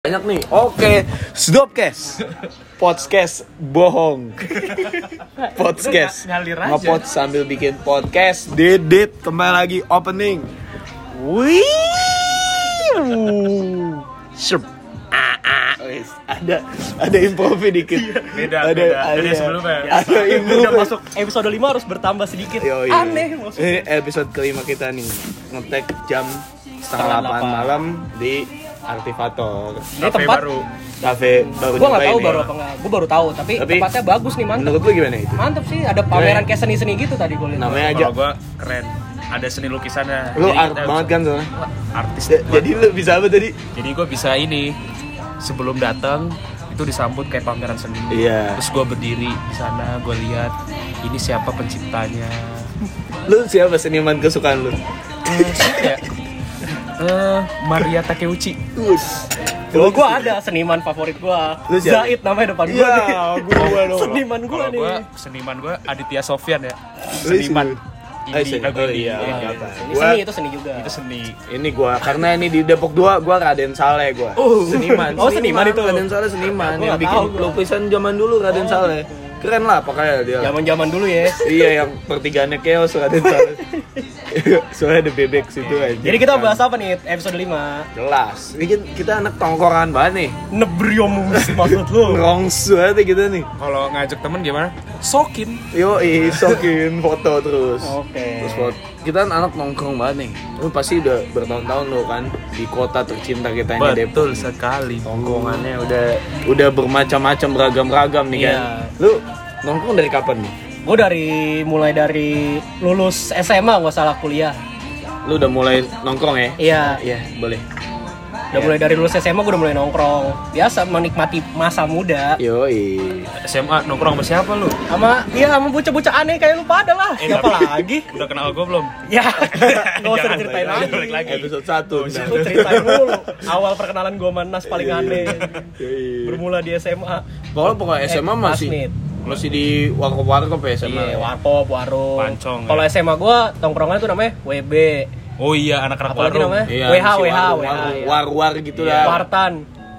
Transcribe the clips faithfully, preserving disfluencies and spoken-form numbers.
Banyak nih. Oke, Stopcast. Podcast bohong. Podcast. Ngalir aja. Ngepot sambil bikin podcast. Didit kembali lagi opening. Wih. Shup. Ah, ah. Wis, ada ada improv dikit. Beda, ada, beda. Ada, Dari sebelumnya. Ada improv. Udah masuk episode lima harus bertambah sedikit. Yoi. Aneh maksudnya. Ini episode kelima kita nih. Ngetek jam setengah delapan malam di Artifator. Ini Cafe tempat baru. Cafe baru. Gua nggak nyobain tahu nih. baru apa nggak. Gua baru tahu tapi, Tapi- tempatnya bagus nih, mantep. Menurut lu gimana itu? Mantep sih, ada pameran kayak seni-seni gitu tadi gue lihat. Namanya aja. Kalau gua keren. Ada seni lukisannya. Lu Jadi art kita banget bisa- kan soalnya. Artis. Ja- Jadi lu bisa apa tadi? Jadi gua bisa ini. Sebelum datang itu disambut kayak pameran seni. Iya. Terus gua berdiri di sana, gua lihat ini siapa penciptanya. Lu siapa seniman kesukaan lu? Eh, siapa ya? Eh, Maria Takeuchi. Us. Kalau gua ada seniman favorit gua. Lu siapa? Zahid namanya depan gua Iya, nih. gua dong. Seniman gua Kalau nih. gua seniman gua Aditya Sofyan ya. Lu Seniman. seni- Indie, Eh, seni- lagu oh indie. iya, Iya, nggak iya. apa. Ini Gua- seni itu seni juga. Itu seni. Ini gua karena ini di Depok dua, gua Raden Saleh gua. Seniman. Oh, seniman itu. Raden Saleh seniman Gua yang nggak bikin tahu gua. lukisan zaman dulu Raden Oh, Saleh. Keren lah pokoknya dia. Zaman-zaman dulu ya. Iya, yang pertigaannya chaos Raden Saleh. Soalnya ada bebek situ aja. Jadi kita bahas apa nih episode lima? Jelas. Ini kan kita anak tongkoran banget nih. Nebriomus maksud lu. Ngerongsu aja kita nih. Kalau ngajak temen gimana? Sokin. Yo, sokin foto terus. Oke. Terus foto. Kita kan anak nongkrong banget nih. Lu pasti udah bertahun-tahun lo kan di kota tercinta kita ini Depok. Betul sekali. Tongkrongannya udah udah bermacam-macam beragam-ragam nih kan. Iya. Lu nongkrong dari kapan nih? Gue dari mulai dari lulus S M A nggak salah kuliah. Lu udah mulai nongkrong ya? Iya. Iya, boleh. Udah mulai dari lulus S M A gue udah mulai nongkrong. Biasa menikmati masa muda. Yoi. S M A nongkrong sama siapa lu? Sama iya sama bocah-bocah aneh kayak lu pada lah. Eh, Siapa tapi- lagi? Udah kenal gue belum? Ya. Enggak usah Jangan, ceritain jangan, lagi. balik lagi. Episode satu. Lu ceritain dulu. Awal perkenalan gue sama Nas paling aneh. Yoi. Bermula di S M A. Pokoknya pokoknya S M A Eh, masih Plasmid. masih di warkop-warkop ya S M A. Iya, warkop, warung. Pancong, Kalau ya. S M A gue tongkrongan tuh namanya W B. Oh iya, anak-anak Apalagi warung. namanya? Iya, W H, si W H, warung, W H, warung, iya. war-war gitu Iya. lah. Wartan.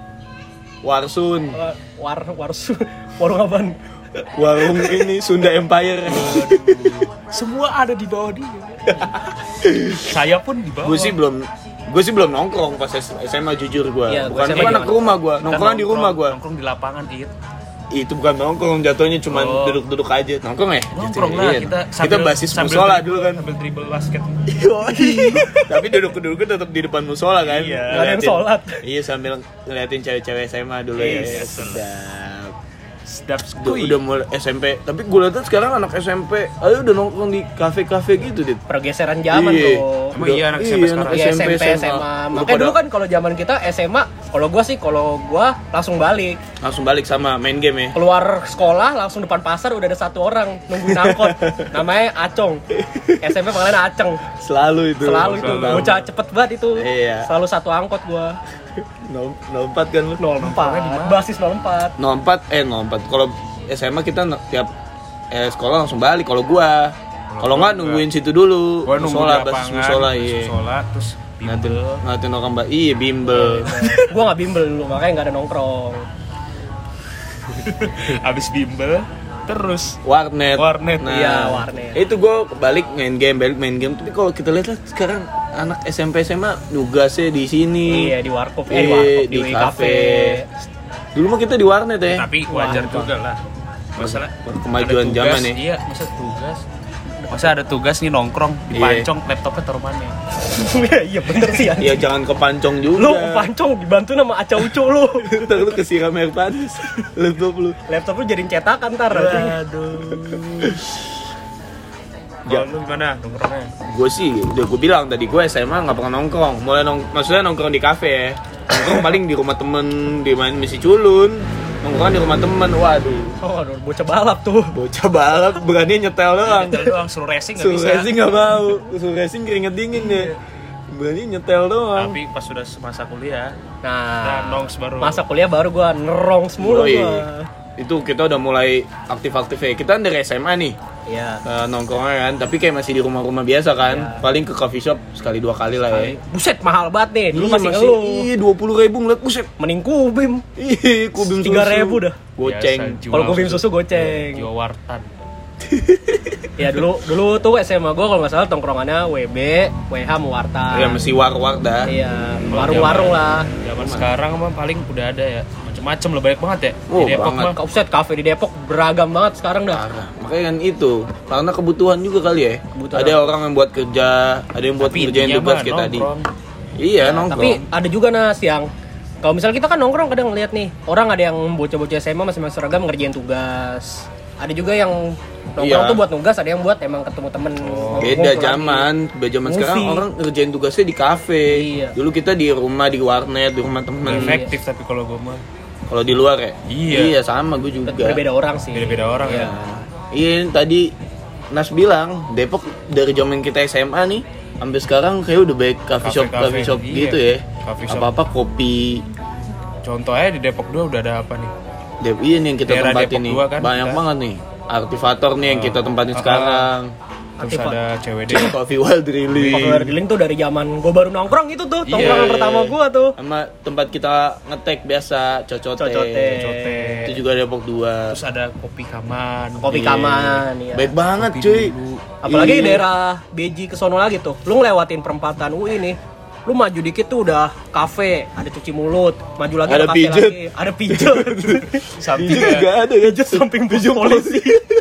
Warsun, War war warsu. Warung apaan? warung ini Sunda Empire. Semua ada di bawah dia. Saya pun di bawah. Gue sih belum gue sih belum nongkrong pas S M A jujur gue. Iya, Bukan gua S M A gue anak juga. rumah gue, Kita nongkrong di rumah gue. Nongkrong di lapangan, It. Itu bukan nongkrong, jatuhnya cuma Oh. duduk-duduk aja. Nongkrong ya? Nongkrong Gitu, lah iya. kita Kita basis musola dulu kan. Sambil dribble basket. Tapi duduk-duduk tetap di depan musola kan. Iya. Nggak ada yang Ngeliatin- sholat. Iya, sambil ngeliatin cewek-cewek S M A dulu ya. Yes. Sedap. Sedap Udah, sekali. udah mulai S M P, tapi gue lihat sekarang anak S M P, ayo udah nongkrong di kafe-kafe gitu, Dit. Pergeseran zaman Iya. bro. Emang iya anak S M P sekarang? Iya S M P, S M A. Lu Makanya pada dulu kan kalau zaman kita S M A, kalau gua sih kalau gua langsung balik. langsung balik sama main game ya. Keluar sekolah langsung depan pasar udah ada satu orang nungguin angkot. Namanya Acong. S M P panggilan Aceng. Selalu itu. Selalu itu. Selalu. Bocah cepet banget itu. Iya. Selalu satu angkot gua. nol empat kan lu? nol empat. Basis nol empat. nol empat eh nol empat. Kalau S M A kita no- tiap eh, sekolah langsung balik. Kalau gua, kalau nggak nungguin situ dulu. Gua nunggu Musola, di basis lapangan, musola, basis iya. musola, terus Ngatin, bimbel. ngatin orang mbak, iya bimbel. Gua nggak bimbel dulu makanya nggak ada nongkrong. Abis bimbel, terus Warnet. Warnet. Iya, warnet. Itu gua balik main game, balik main game. Tapi kalau kita lihat lah sekarang anak S M P S M A nugasnya di sini. Iya di warkop, eh di Iya, warkop di di, kafe. kafe. Dulu mah kita di warnet ya. tapi wajar Wah, juga lah. Masalah Kemajuan ada tugas, zaman ya. Iya, masa tugas. Masa ada tugas nih nongkrong, dipancong laptopnya taruh mana? Iya bener sih ya. Iya jangan kepancong juga. Lu pancong dibantu sama Aca Ucu lu. Ntar lu kesiram air panas laptop lu. Laptop lu jadiin cetakan ntar. Aduh. Ya. Kalau lu gimana nongkrongnya? Gue sih udah gue bilang tadi gue S M A nggak pernah nongkrong. Mulai nong maksudnya nongkrong di kafe ya. Nongkrong paling di rumah temen, di main misi culun. Nongkrong di rumah temen. Waduh, Oh, aduh, bocah balap tuh. bocah balap berani nyetel doang. Nyetel doang, suruh racing nggak Suruh bisa. racing nggak mau. Suruh racing keringet dingin deh. Berani nyetel doang. Tapi pas sudah masa kuliah, Nah, nah, nongs baru. masa kuliah baru gua nerong semula Yoi. gua. Itu kita udah mulai aktif-aktif ya. Kita kan dari S M A nih. Iya. uh, nongkrongnya kan, tapi kayak masih di rumah-rumah biasa kan. Iya. Paling ke coffee shop sekali dua kali lah ya. Buset mahal banget nih. Dulu Iya, masih ngeluh. Iya dua puluh ribu ngeliat, buset. Mending kubim. Ih, kubim susu. tiga ribu dah. Goceng. Biasa, Kalau kubim susu goceng. Jual wartan. Ya dulu dulu tuh S M A gue kalau nggak salah tongkrongannya W B, W H, Muarta. Ya mesti war-war dah. Iya, warung-warung lah. Zaman sekarang mah paling udah ada ya. Macem-macem lah, banyak banget ya. Oh, Di Depok banget. mah. Offset cafe di Depok beragam banget sekarang dah. Parah. Makanya kan itu, karena kebutuhan juga kali ya. Kebutuhan Ada apa? orang yang buat kerja, ada yang buat Tapi ngerjain intinya tugas mah kayak tadi. nongkrong. Iya, nongkrong. Tapi ada juga Nas yang kalau misalnya kita kan nongkrong kadang ngeliat nih orang ada yang bocah-bocah S M A masih masih seragam ngerjain tugas. Ada juga yang nongkrong Iya. tuh buat nugas, ada yang buat emang ketemu temen. Oh, beda zaman, beda zaman Movie. sekarang orang ngerjain tugasnya di kafe. Iya. Dulu kita di rumah, di warnet, di rumah temen. Efektif tapi kalau gue mah Kalau di luar ya? Iya. Iya, sama gue juga. Berbeda orang sih. beda-beda orang Iya. ya. Iya, ini tadi Nas bilang Depok dari zaman kita S M A nih sampai sekarang kayak udah baik coffee shop, Cafe-cafe, coffee shop iya. gitu ya. Coffee shop. Apa-apa kopi. Contohnya di Depok dua udah ada apa nih? Dep, iya nih yang kita Daerah tempatin Depok nih. dua kan, Banyak kita- banget nih. Aktivator nih yang kita tempatin Ah, sekarang. Terus Aktiva- ada C W D. Coffee Wild Drilling. Popular Dealing tuh dari zaman gue baru nongkrong itu tuh, Iya, tongkrongan iya, pertama iya. gue tuh. Sama tempat kita ngetek biasa, cocote. Cocote. Cocote. Itu juga Depok dua. Terus ada kopi kaman. Kopi Iya. kaman, iya. Baik banget Kopi cuy. dulu. Apalagi Iya. daerah B J ke sono lagi tuh. Lu ngelewatin perempatan U I nih. Lu maju dikit tuh udah kafe, ada cuci mulut, maju lagi Ada ada kafe pijet. lagi, ada pijet. Samping Pijet ya. juga ada ya. Pijet samping pos polisi.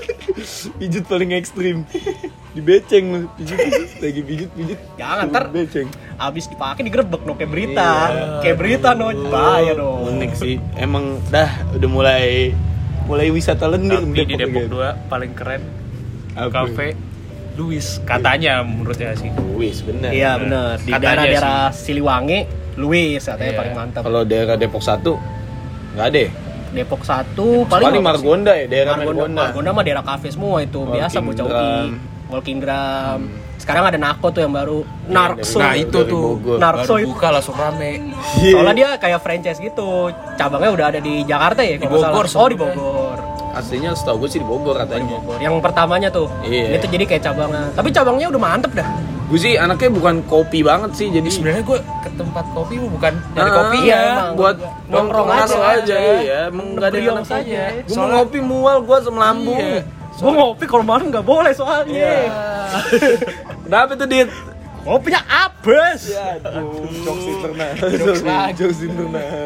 Pijet paling ekstrim. Dibeceng lu, pijet lagi pijet pijet. Jangan, ntar beceng. abis dipakai digerebek no kayak berita. Iya. Kayak berita no, bahaya dong. Unik sih. Emang dah udah mulai mulai wisata lendir Tapi di Depok ya. dua paling keren Apa? kafe Louis katanya menurutnya sih. Wis bener. Iya bener, di Katanya daerah-daerah Siliwangi, Luis katanya Iya. paling mantap. Kalau daerah Depok satu nggak ada. ya? Depok satu paling Paling apa sih? Margonda ya, daerah Margonda, Margonda. Margonda mah daerah kafe semua itu, biasa Walking bocah U I. Drum. Walking Drum. Sekarang ada Nako tuh yang baru, Narkso. Nah dari itu tuh Bogor. Narkso baru itu. buka langsung rame. Soalnya dia kayak franchise gitu. Cabangnya udah ada di Jakarta ya Di kalau nggak Bogor salah. Oh, di sebenarnya. Bogor. Aslinya setahu gue sih di Bogor Di katanya. Bogor. Yang pertamanya tuh. Iya. Itu jadi kayak cabangnya. Tapi cabangnya udah mantep dah. Gue sih anaknya bukan kopi banget sih, jadi Sebenarnya gue ke tempat kopi mah bukan dari Ah, kopi iya, ya. emang. buat Nongkrong nongkrong aja. aja aja iya, emang nggak ada yang Ngebriong enak saja. Gue mau Soalnya- ngopi mual, gue asam lambung. Iya. Gue ngopi kalau malam nggak boleh soalnya. Iya. Kenapa tuh Dit? Ngopinya abes. Ya, aduh, jokes internal. Jokes lagi. Jokes internal.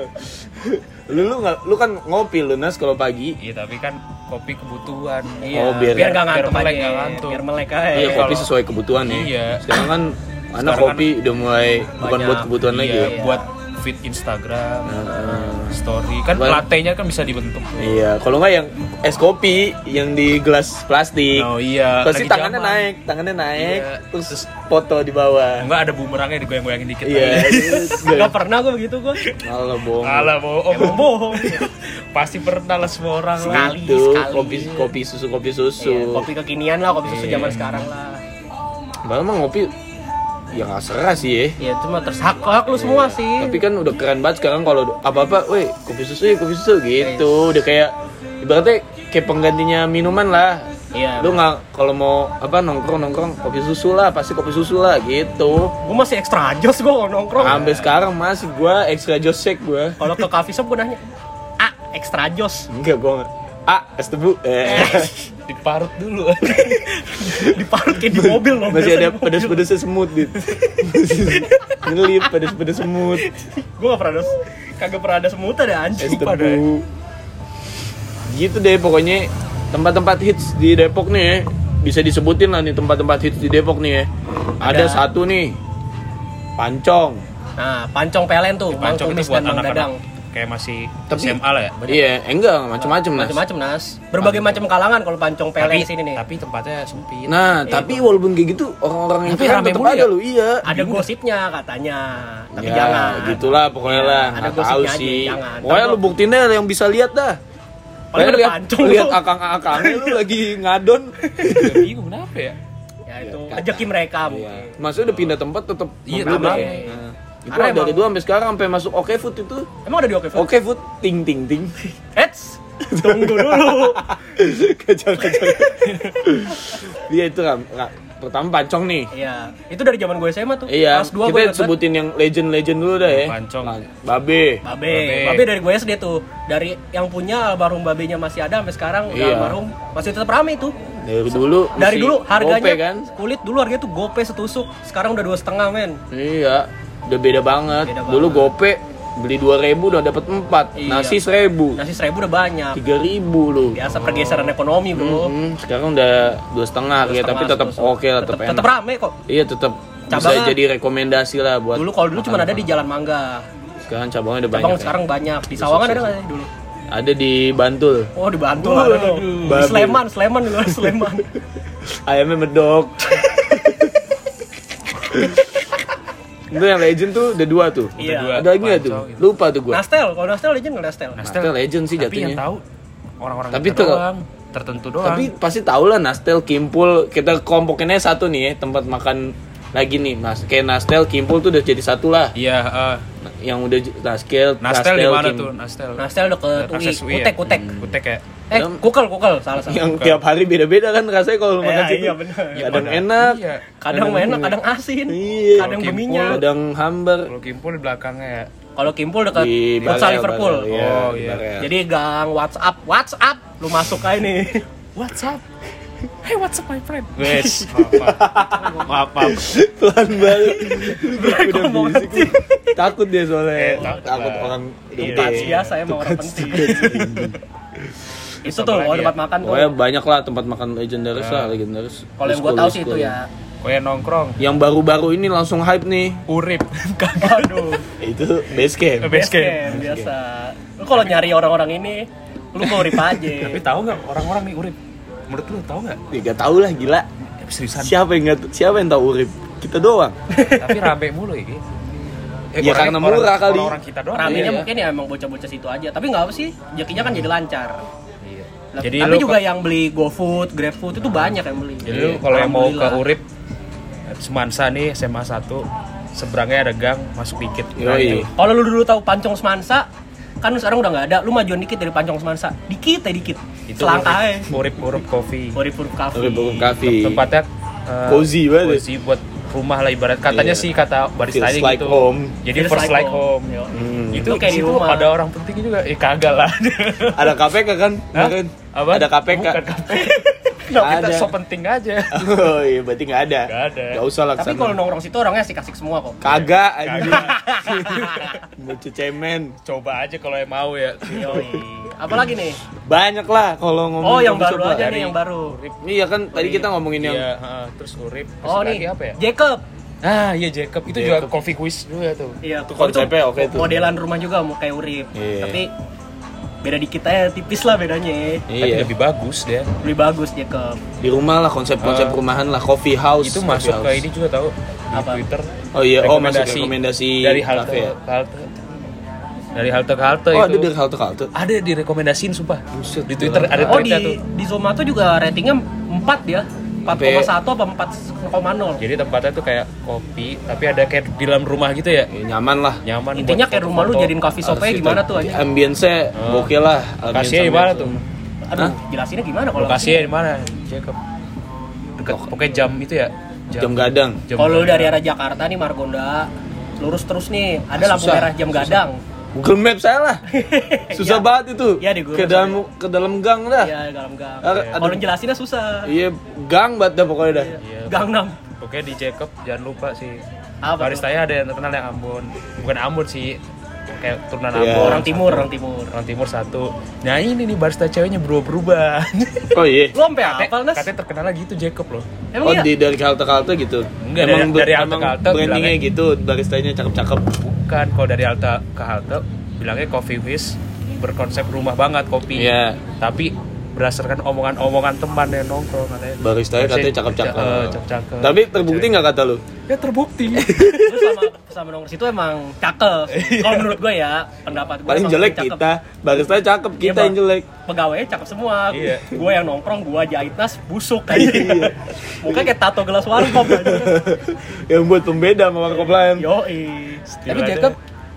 Lu lu nggak, lu kan ngopi lu Nas kalau pagi. Iya tapi kan kopi kebutuhan. Iya, Oh, biar- biar nggak ngantuk biar melek, aja. nggak ngantuk. Biar melek aja. Iya, kopi kalau- sesuai kebutuhan ya. Iya. Sekarang kan anak Sekarang kopi udah mulai bukan banyak. buat kebutuhan lagi. Iya, ya. buat feed Instagram, Heeh. story kan Buat- latte-nya kan bisa dibentuk. Iya, kalau nggak yang es kopi yang di gelas plastik. Oh iya. Pasti lagi tangannya zaman. naik, tangannya naik, Iya. terus foto di bawah. Enggak ada bumerangnya digoyang-goyangin dikit. Iya. Gak pernah gue begitu gue. Malah bohong. Alah bohong. Emang bohong. Pasti pernah lah semua orang lah. Sekali. Itu sekali. kopi kopi susu kopi susu. Iya, kopi kekinian lah, kopi susu Iya. zaman sekarang lah. Malah mah ngopi ya nggak serah sih ya. Ya itu mah terhak hak lu semua sih. Tapi kan udah keren banget sekarang kalau apa-apa, weh kopi susu ya kopi susu gitu. Udah kayak ibaratnya kayak penggantinya minuman lah. Iya. Lu nggak kalau mau apa nongkrong nongkrong kopi susu lah pasti kopi susu lah gitu. Gue masih ekstra jos gue kalau nongkrong. Sampai sekarang masih gua extra joss shake gua. Kalau ke coffee shop gue nanya, ah ekstra jos. Enggak gua nggak. Ah, es tebu. Eh. Diparut dulu. Diparut kayak di mobil loh. Masih biasa ada di mobil. pedes-pedesnya semut dit. Ngelip pedes-pedes semut. Gue gak pernah ada, kagak pernah ada semut ada Es anjing pada. tebu. Gitu deh pokoknya tempat-tempat hits di Depok nih ya. Bisa disebutin lah nih tempat-tempat hits di Depok nih ya. Ada, Ada. satu nih. Pancong. Nah, pancong pelen tuh, Mang Pancong Kumis itu buat dan Mang Dadang. anak-anak kayak masih Tapi- S M A lah ya. Banyak. Iya, eh, enggak macam-macam Nas. Macem-macem Nas. Berbagai macam kalangan kalau pancong pelen Tapi di sini nih. tapi tempatnya sempit. Nah, Iya, tapi walaupun kayak gitu orang-orang yang Tapi keren rame tetap mulu ada ya? lu, iya. Ada gosipnya katanya, tapi Ya, jangan. gitulah pokoknya Iya, lah. ada Nggak tahu gosipnya aja, sih. jangan. Pokoknya Ntar lu buktiin deh yang bisa lihat dah. Paling ada lihat, pancong lihat lu. akang-akangnya lu lagi ngadon. Juga bingung kenapa ya? Ya itu rezeki mereka Iya. mungkin. Maksudnya udah pindah tempat tetap Iya, membludak. tetap. Nah, itu Karena dari emang- dulu sampai sekarang sampai masuk Oke Food itu. Emang ada di Oke Food? Oke Food ting ting ting. Eits, Tunggu dulu. Kacau kacau. Dia itu kan pertama pancong nih. Iya, itu dari zaman gue S M A tuh. Iya, Kelas dua kita gue ingat sebutin yang legend-legend dulu dah ya. Pancong. Babe. Babe. Babe dari gue S D tuh. Dari yang punya almarhum babenya masih ada sampai sekarang udah Iya. almarhum masih tetap rame itu. Dari dulu. Dari mesti dulu harganya gope, kan? kulit dulu harganya tuh gope setusuk. Sekarang udah dua setengah men. Iya, udah beda banget. Beda Dulu banget. gope beli dua ribu udah dapat empat, Iya. nasi seribu, Nasi seribu udah banyak. tiga ribu loh. Biasa pergeseran ekonomi bro. Hmm, sekarang udah dua setengah ya, tapi tetap oke lah, tetap enak. Tetap rame kok. Iya, tetap bisa Cabangnya- jadi rekomendasi lah buat. Dulu kalau dulu cuma ada di Jalan Mangga. Sekarang cabangnya udah Cabang banyak. sekarang banyak. Di Sawangan ada nggak sih dulu? Ya. Ada di Bantul. Oh di Bantul ada dong. Di babi. Sleman, Sleman juga ada Sleman. Ayamnya medok. Itu yang legend tuh ada dua tuh. Iya. Dua. Ada lagi nggak tuh? Pancong gitu. Lupa tuh gua. Nastel, kalau Nastel legend nggak Nastel? Nastel legend sih Tapi jatuhnya. yang tahu orang-orang Tapi kita tuh- doang, tertentu doang. Tapi pasti tau lah Nastel, Kimpul. Kita kelompokinnya satu nih ya, tempat makan lagi nih. Mas, kayak Nastel, Kimpul tuh udah jadi satu lah. iya, eh, Yang udah j- Nastel, Nastel di mana Kim- tuh? Nastel. Nastel deket U I, Akses U I ya? Kutek, Kutek. Kutek ya. Eh, Yang- kukel, kukel, salah salah. Yang tiap hari beda-beda kan rasanya kalau makan Iya, situ. iya, bener. Kadang Iya, enak, iya. Kadang enak, kadang asin, Iya. kadang Kimpul, berminyak. kadang hambar. Kalau Kimpul di belakangnya ya. Kalau Kimpul dekat Di futsal Barel, Liverpool. Barel, iya, Oh, di iya. Barel. Jadi gang WhatsApp, WhatsApp, lu masuk aja nih. What's up? Hey, what's up my friend? Wes, Maaf, maaf. pelan banget. Udah ngomong berisik lu. Takut dia soalnya. Eh, takut takut lah. orang Iya, gede. biasa emang orang penting. Itu tuh, Apa kalau lagi tempat makan tuh. Pokoknya banyak lah tempat makan legendaris lah, legendaris. Kalau yang gua School, tahu sih school. itu ya. Kue nongkrong. Yang baru-baru ini langsung hype nih. Urip. Kagak dong. Itu base camp. Base camp. Camp, biasa. Lu kalau nyari orang-orang ini, lu mau rip aja. Tapi tahu nggak orang-orang nih Urip? Menurut lu tahu nggak? Ya, gak tau lah gila. Eh, seriusan. Siapa yang gak, siapa yang tahu Urip? Kita doang. Tapi rame mulu ya. Ki. Eh, Ya, orangnya- karena murah orang- kali. Orang-orang kita doang. Ramenya Iya. mungkin ya emang bocah-bocah situ aja. Tapi nggak apa sih, rezekinya kan jadi lancar. Iya. Lah, Jadi tapi lu juga ke- yang beli GoFood, GrabFood itu banyak yang beli. Jadi lu kalau yang mau ke Alhamdulillah. Urip Semansa nih S M A satu seberangnya ada gang, masuk dikit. Nah, Yoi. itu. Kalau lu dulu tahu Pancong Semansa, kan sekarang udah nggak ada. Lu majuan dikit dari Pancong Semansa, dikit ya dikit. Itu Selangkah aja. Urip Urip Coffee. Urip-urip cafe. Urip Urip Cafe. Tempatnya eh, Cozy banget. cozy buat rumah lah ibarat katanya Iya. sih kata barista Feels gitu. like home. Jadi Feels first like home. Yo. Hmm. Itu Lu kayak di situ rumah. ada orang penting juga. Eh kagak lah. Ada K P K kan? Hah? Kemarin. Apa? Ada K P K. Bukan K P K. Nah, kita Ada. so penting aja. Oh iya, berarti nggak ada. Nggak ada. Nggak usah lah Tapi kesana. kalau nongkrong situ orangnya asik-asik semua kok. Kagak anjing. Bocah cemen. Coba aja kalau yang mau ya. Yoi. Apalagi nih? Banyak lah kalau ngomong. Oh, yang coba. baru aja Dari nih, yang baru. Iya kan tadi kita ngomongin yang Iya, heeh, terus Urip. Terus Oh lagi nih, apa ya? Jacob. Ah, iya Jacob. Itu Jacob. juga coffee quiz juga tuh. Iya, Itu konsepnya oke tuh. Modelan rumah juga mau kayak Urip. Iya. Tapi beda dikit aja, tipis lah bedanya. Tapi iya. lebih bagus dia. Lebih bagus Jacob. Di rumah lah konsep-konsep Ah. rumahan lah, coffee house. Itu coffee masuk ke house. ini juga tahu di Apa? Twitter. Oh iya, oh masuk rekomendasi dari halte cafe ya? ke halte. Dari halte ke halte Oh, itu. ada dari halte ke halte. Ada direkomendasiin sumpah. Buset, Di Twitter gila. ada Oh tweetnya di tuh. di Zomato juga ratingnya empat ya. empat koma satu apa empat koma nol. Jadi tempatnya tuh kayak kopi, tapi ada kayak di dalam rumah gitu ya. Ya, nyaman lah. Nyaman. Intinya buat kayak rumah lu foto-foto. jadiin coffee shop-nya Harus gimana itu. tuh aja. Ambience-nya Oh. gokil lah. Lokasinya di mana tuh? Aduh, jelasinnya gimana kalau Lokasinya di mana? Jacob. Dekat pokoknya jam itu ya. Jam gadang. Jam Kalau lu gadang. dari arah Jakarta nih Margonda, lurus terus nih, ada Ah, lampu susah, merah jam susah. gadang. Google Maps saya lah. Susah Iya. banget itu. Iya, di Google ke dalam ke dalam gang dah. Iya, dalam gang. Ada- Kalau ada- jelasinnya susah. Iya, gang banget dah pokoknya dah. Iya. Gang enam. Pokoknya di Jacob jangan lupa sih. Apa Baristanya ada yang terkenal yang Ambon. Bukan Ambon sih. Kayak turunan Iya. Ambon. Orang timur, satu. orang timur. Orang timur satu. Nah ini nih barista ceweknya berubah-berubah. Oh iya. Lu sampai hafal, Nas? Katanya terkenal lagi itu Jacob loh. Emang Oh iya? di dari halte ke halte gitu. Enggak, dari- ber- dari halte emang ke halte brandingnya bilangnya- gitu, baristanya cakep-cakep. Bukan, kalau dari halte ke halte bilangnya coffee whiz berkonsep rumah banget kopi. Iya. Tapi berdasarkan omongan-omongan teman yang nongkrong katanya. Baristanya katanya Biasanya cakep-cakep. eh, cakep-cakep. Tapi terbukti nggak kata lu? Ya terbukti. Lu sama sama nongkrong situ emang cakep. Kalau menurut gue ya, pendapat gue Paling emang jelek cakep. kita, baristanya cakep, Iya, kita Bang. yang jelek. Pegawainya cakep semua. Iya. Gue yang nongkrong, gue jahit nas busuk aja. Mukanya kayak tato gelas warkop aja. Yang buat pembeda sama warkop lain. Yoi. Tapi Still Jacob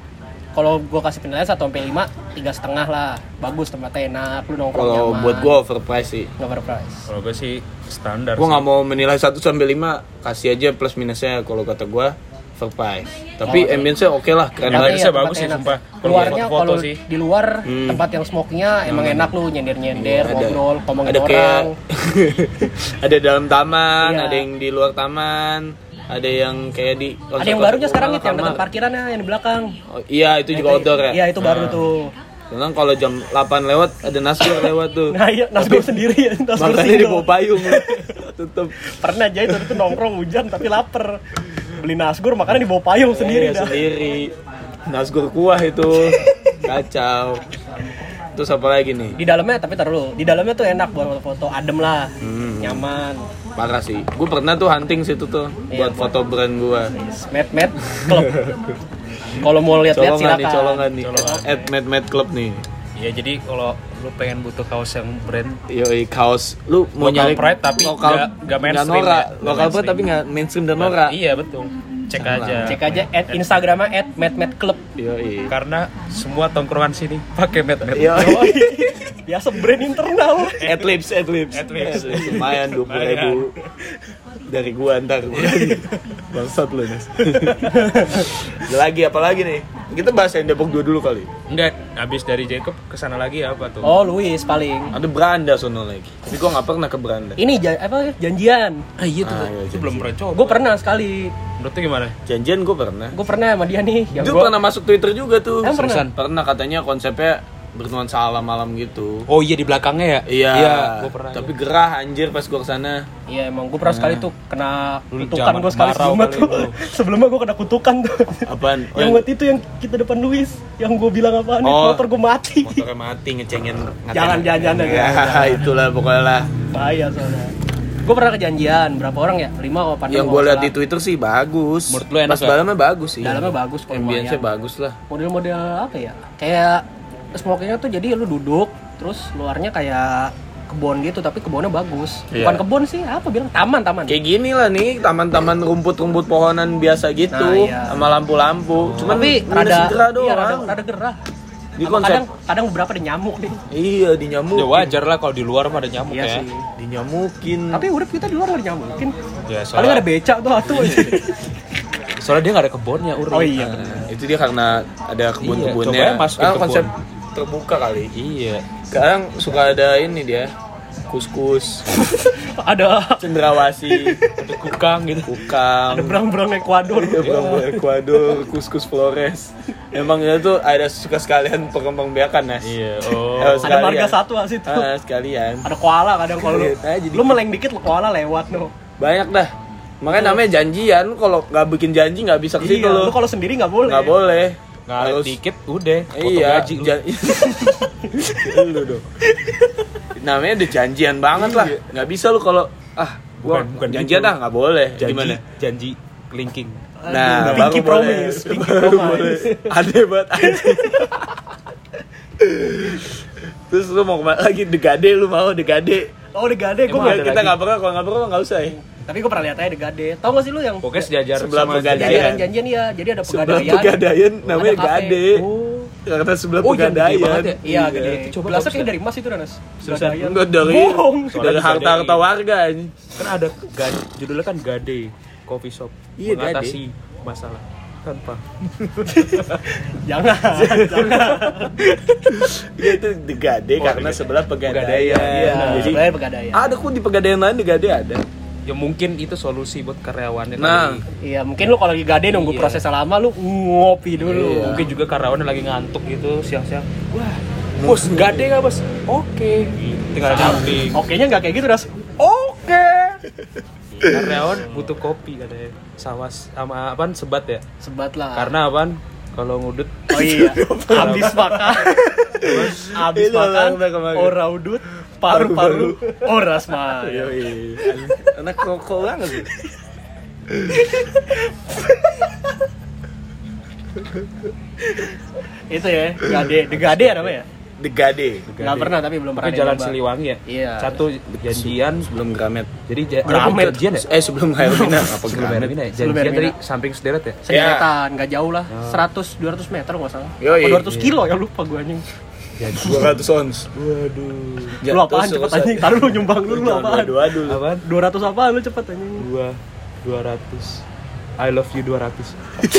kalau gue kasih penilaian satu sampai lima, tiga setengah lah. Bagus, tempatnya enak, lu nongkrong Kalau nyaman. buat gue overpriced sih. Nggak overprice. Kalau gue sih standar. Gue sih. nggak mau menilai satu sampai lima, kasih aja plus minusnya. Kalau kata gue overpriced. Tapi Oh, ambience-nya oke lah, keren Tapi banget. Ambience-nya ya, bagus sih, tempatnya enak. sumpah. Kalau Keluarnya foto-foto kalau sih. di luar Hmm. tempat yang smoke-nya emang enak lu nyender-nyender, Ada- ngobrol, ngomongin ada kayak orang. ada dalam taman, Iya. ada yang di luar taman, ada yang kayak di Ada yang barunya sekarang itu yang kamar. dekat parkirannya yang di belakang. Oh, iya itu juga outdoor ya. Iya, itu baru tuh. Memang kalau jam delapan lewat ada nasgor lewat tuh. Nah, iya, nasgor sendiri ya, nasgor Makanya di single. bawah payung. Tutup. Pernah aja itu tuh nongkrong hujan tapi lapar. Beli nasgor makanya di bawah payung sendiri Iya, dah. sendiri. Nasgor kuah itu. Kacau. Terus apa lagi nih? Di dalamnya tapi taruh dulu. Di dalamnya tuh enak buat foto-foto, adem lah. Hmm. Nyaman. Parah sih. Gue pernah tuh hunting situ tuh Iya, buat foto brand gue. Mad Mad Club. Kalau mau lihat-lihat Colongan nih, silakan. colongan nih. At Mad Mad Club nih. Ya jadi kalau lu pengen butuh kaos yang brand Yoi kaos. Lu mau Local nyari pride tapi lokal nggak- nggak mainstream norak. ya. Nggak Lokal pride mainstream. tapi nggak mainstream dan norak. Iya betul. Cek Salah. aja. Cek aja at Instagramnya at Mad Mad Club. Yoi. Karena semua tongkrongan sini pakai Mad Mad. Yoi. Biasa brand internal. Adlibs, adlibs. Adlibs. Lumayan dua puluh ribu dari gua ntar. Bangsat lu Nas. Ada lagi apa lagi nih? Kita bahas yang Depok dua dulu kali. Enggak, habis dari Jacob kesana lagi apa tuh? Oh, Luis paling. Ada Beranda sono lagi. Tapi gua nggak pernah ke Beranda. Ini ja- apa janjian. Ah, iya tuh. Ah, iya, itu belum pernah coba. Gue pernah sekali. Menurut lu gimana? Janjian gua pernah. Gue pernah sama dia nih. Yang Itu gua- pernah masuk Twitter juga tuh. Emang pernah? Seriusan. Pernah katanya konsepnya bernuansa alam-alam gitu. Oh iya di belakangnya ya? Iya, Iya, gua pernah. tapi gerah anjir pas gua kesana. Iya emang gue pernah sekali tuh kena Lu kutukan zaman gue sekali kemarau sebelumnya kali tuh. lu. Sebelumnya gue kena kutukan tuh. Apaan? Oh, yang waktu itu yang kita depan Luis, yang gue bilang apaan nih, Oh. motor gue mati. motornya mati ngecengin. ngatain. Jangan, jangan, jangan, Ya, jangan. itulah pokoknya lah. Bahaya soalnya. Gue pernah kejanjian, berapa orang ya? Lima apa enam? Yang gue lihat di Twitter sih bagus. Menurut lu enak Pas nggak? dalamnya bagus sih. Dalamnya bagus kok, Ambience-nya lumayan. bagus lah. Model-model apa ya? Kayak smokingnya tuh jadi lu duduk, terus luarnya kayak kebun gitu, tapi kebunnya bagus. Iya. Bukan kebun sih, apa bilang taman, taman. Kayak gini lah nih, taman-taman rumput-rumput pohonan biasa gitu, Nah, iya. sama lampu-lampu. Cuman tapi minus rada gerah doang. iya, rada, rada gerah. Di Sama konsep- kadang kadang beberapa ada nyamuk nih. Iya, dinyamuk. Ya wajar lah kalau di luar mah ada nyamuk Iya ya. sih. Dinyamukin. Tapi urip kita di luar nggak dinyamukin. Ya Paling soalnya, ada becak tuh atuh. soalnya dia nggak ada kebunnya Uri. Oh iya. Nah, itu dia karena ada kebun-kebunnya. Iya, coba masukin Kan kebun. konsep terbuka kali. Iya. Sekarang suka ada ini dia. Kus-kus, Ada cendrawasih, Ada kukang gitu. kukang, ada berang-berang Ekuador. Iya, Bang Ecuador, kus-kus Flores. Emang itu ada suka sekalian pengembang-biakan, Nas. Iya. Oh. Eh, Ada sekalian. marga satwa situ. Ah, sekalian. Ada koala kadang kalau lu, Lihat aja lu dikit. meleng dikit lu koala lewat no. Banyak dah. Makanya namanya janjian. Kalau nggak bikin janji nggak bisa ke situ Iya, lo. lu kalau sendiri nggak boleh. Nggak boleh. Ngaret Harus- dikit udah. Foto Iya. gaji lu. jan- lu dong. Namanya udah janjian banget lah. Nggak bisa lu kalau ah gua Bukan- bukan janjian gitu. dah nggak boleh. Janji, Gimana? janji linking. Nah, Pinky baru promise, boleh. pinky Baru promise. boleh. Aneh banget anjing. Terus lu mau kemana lagi? Degade lu mau Degade? Oh, Degade gue Emang Enggak, ada kita lagi? nggak pernah, kalau nggak pernah nggak usah ya. Tapi gue pernah lihat aja Degade. Tahu gak sih lu yang Pokoknya sejajar Sebelah sama Pegadaian. janjian janjian ya. Jadi ada Sebelah pegadaian. Pegadaian namanya Ada kafe. Gade. Oh. Karena sebelah Oh, iya, gede Pegadaian. banget ya? Iya, gede. Itu coba Gelasnya bagus kayak ya. dari emas itu Danas. Susah. Pegadaian. Enggak dari Bohong. dari Soalnya harta-harta warga anjing. Kan ada gade, judulnya kan Gade Coffee Shop. Iya, mengatasi masalah tanpa. Jangan, jangan. Iya itu Degade Oh, karena Degade. sebelah Pegadaian. Pegadaian. Iya, Jadi sebenarnya pegadaian. ada kok di Pegadaian lain Degade ada. Ya mungkin itu solusi buat karyawannya Nah. kali. Iya, mungkin lu kalau lagi gade nunggu Iya. prosesnya lama lu ngopi dulu. Iya. Mungkin juga karyawannya lagi ngantuk gitu siang-siang. Wah, bos Gade nggak bos? Oke. Tinggal nyamping. Oke-nya nggak kayak gitu, Das. Oke. Karyawan butuh kopi katanya. Sawas sama apaan sebat ya? Sebat lah. Karena apaan? Kalau ngudut Oh iya, habis makan, habis Itu makan, orang udah kemarin. ora udut, paru-paru, ora smile. Yoi. Anak koko banget sih. Itu ya, gade, de gade ya namanya. The Gade. Nggak pernah tapi belum pernah Itu Jalan nyoba. Siliwangi ya? Iya. Satu janjian Sebelum Gramet. jadi ja- Gramet. ada janjian ya? Eh sebelum Hermina apa Sebelum Gramet? Hermina ya? Sebelum Janjian Hermina. tadi samping sederet ya? Sederetan, nggak jauh lah. seratus dua ratus meter nggak salah. Yoi. Apa dua ratus kilo ya lupa gue anjing. dua ratus ons. Waduh. Lu apaan cepet anjing? Taruh lu nyumbang lu lu apaan? Dua dulu. Apaan? dua ratus apaan lu cepet anjing? Dua, dua ratus. I love you dua ratus.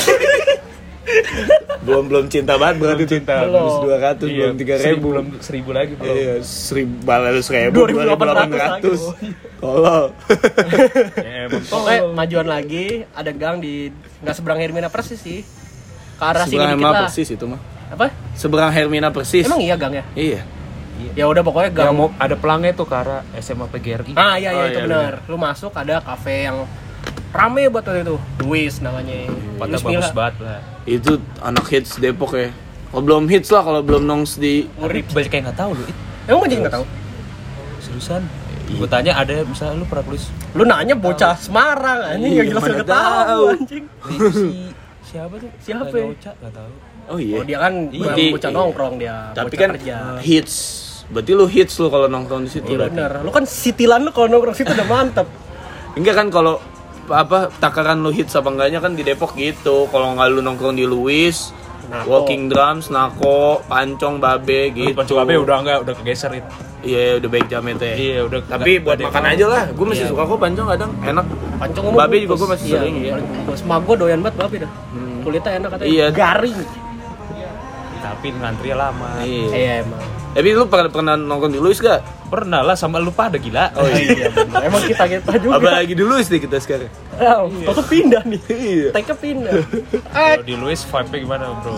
Belum belum cinta banget berarti cinta. Belum. dua ratus belum tiga ribu. Belum seribu lagi belum. Iya, seribu balas seribu, dua ribu delapan ratus lagi. Tolol. Ya, emang Pokoknya majuan lagi ada gang di nggak seberang Hermina persis sih. Ke arah sini Seberang dikit Hermina lah. persis itu mah. Apa? Seberang Hermina persis. Emang iya gang ya? Iya. Ya udah pokoknya gang. yang mau ada pelangnya tuh ke arah S M A P G R I. Ah iya iya Oh, itu iya, benar. Lu masuk ada kafe yang rame buat waktu itu. Luis namanya. Pada Luis bagus Milla. banget lah. Itu anak hits Depok ya. Kalau belum hits lah, kalau belum nongs di Ngeri. Banyak yang nggak tahu lu. It. Emang aja nggak tahu. Seriusan? Gue tanya ada misalnya lu pernah tulis Lu nanya bocah Semarang anjing Iya, yang jelas mana nggak tahu tahu. anjing. itu si siapa tuh? Siapa Nggak ya? Oca, nggak tahu. Oh iya. Oh dia kan Iya. bukan bocah Iya. nongkrong dia. Tapi bocah kan kerja. hits. Berarti lu hits lu kalau nongkrong di situ. Iya berarti. bener. Lu kan sitilan lu kalau nongkrong situ udah mantep. Enggak kan kalau apa takaran lu hits apa enggaknya kan di Depok gitu. Kalau nggak lu nongkrong di Luis, Nako. Walking Drums, Nako, Pancong, Babe gitu. Lu Pancong Babe udah enggak, udah kegeser itu. Iya, udah baik jametnya. Iya, udah. Tapi nggak- buat nggak makan ada- aja lah. Gue masih Iya. suka kok Pancong kadang enak. Pancong Babe juga gua masih sering, iya. Semua gue doyan banget babe dah. Kulitnya enak katanya. Iya. Garing. Tapi ngantri lama. Iya. Iya emang. Tapi lu pernah pernah nongkrong di Luis gak? Pernah lah sama lu pada gila. Oh iya. bener. Emang kita kita juga. Apalagi di Luis nih kita sekarang. Oh, Toto pindah nih. Iya. Take pindah. Kalau di Luis vibe-nya gimana, Bro?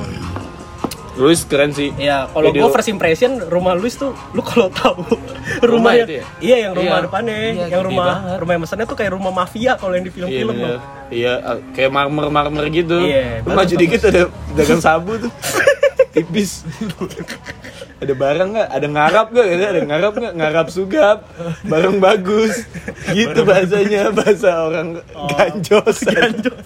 Luis keren sih. Iya, kalau Video- gue first impression rumah Luis tuh, lu kalau tahu Rumah rumah yang itu ya? iya yang rumah Iya. depannya, Iya, yang gede rumah banget. rumah yang mesennya tuh kayak rumah mafia kalau yang di Iya film-film bener. loh. Iya, uh, kayak marmer-marmer gitu. Iya, Lu bagus, maju dikit ada dagang sabu tuh. Tipis. Ada barang nggak? Ada ngarap nggak? Ada ngarap nggak? Ngarap sugap. Barang bagus. Gitu bahasanya, bahasa orang ganjos. Ganjos.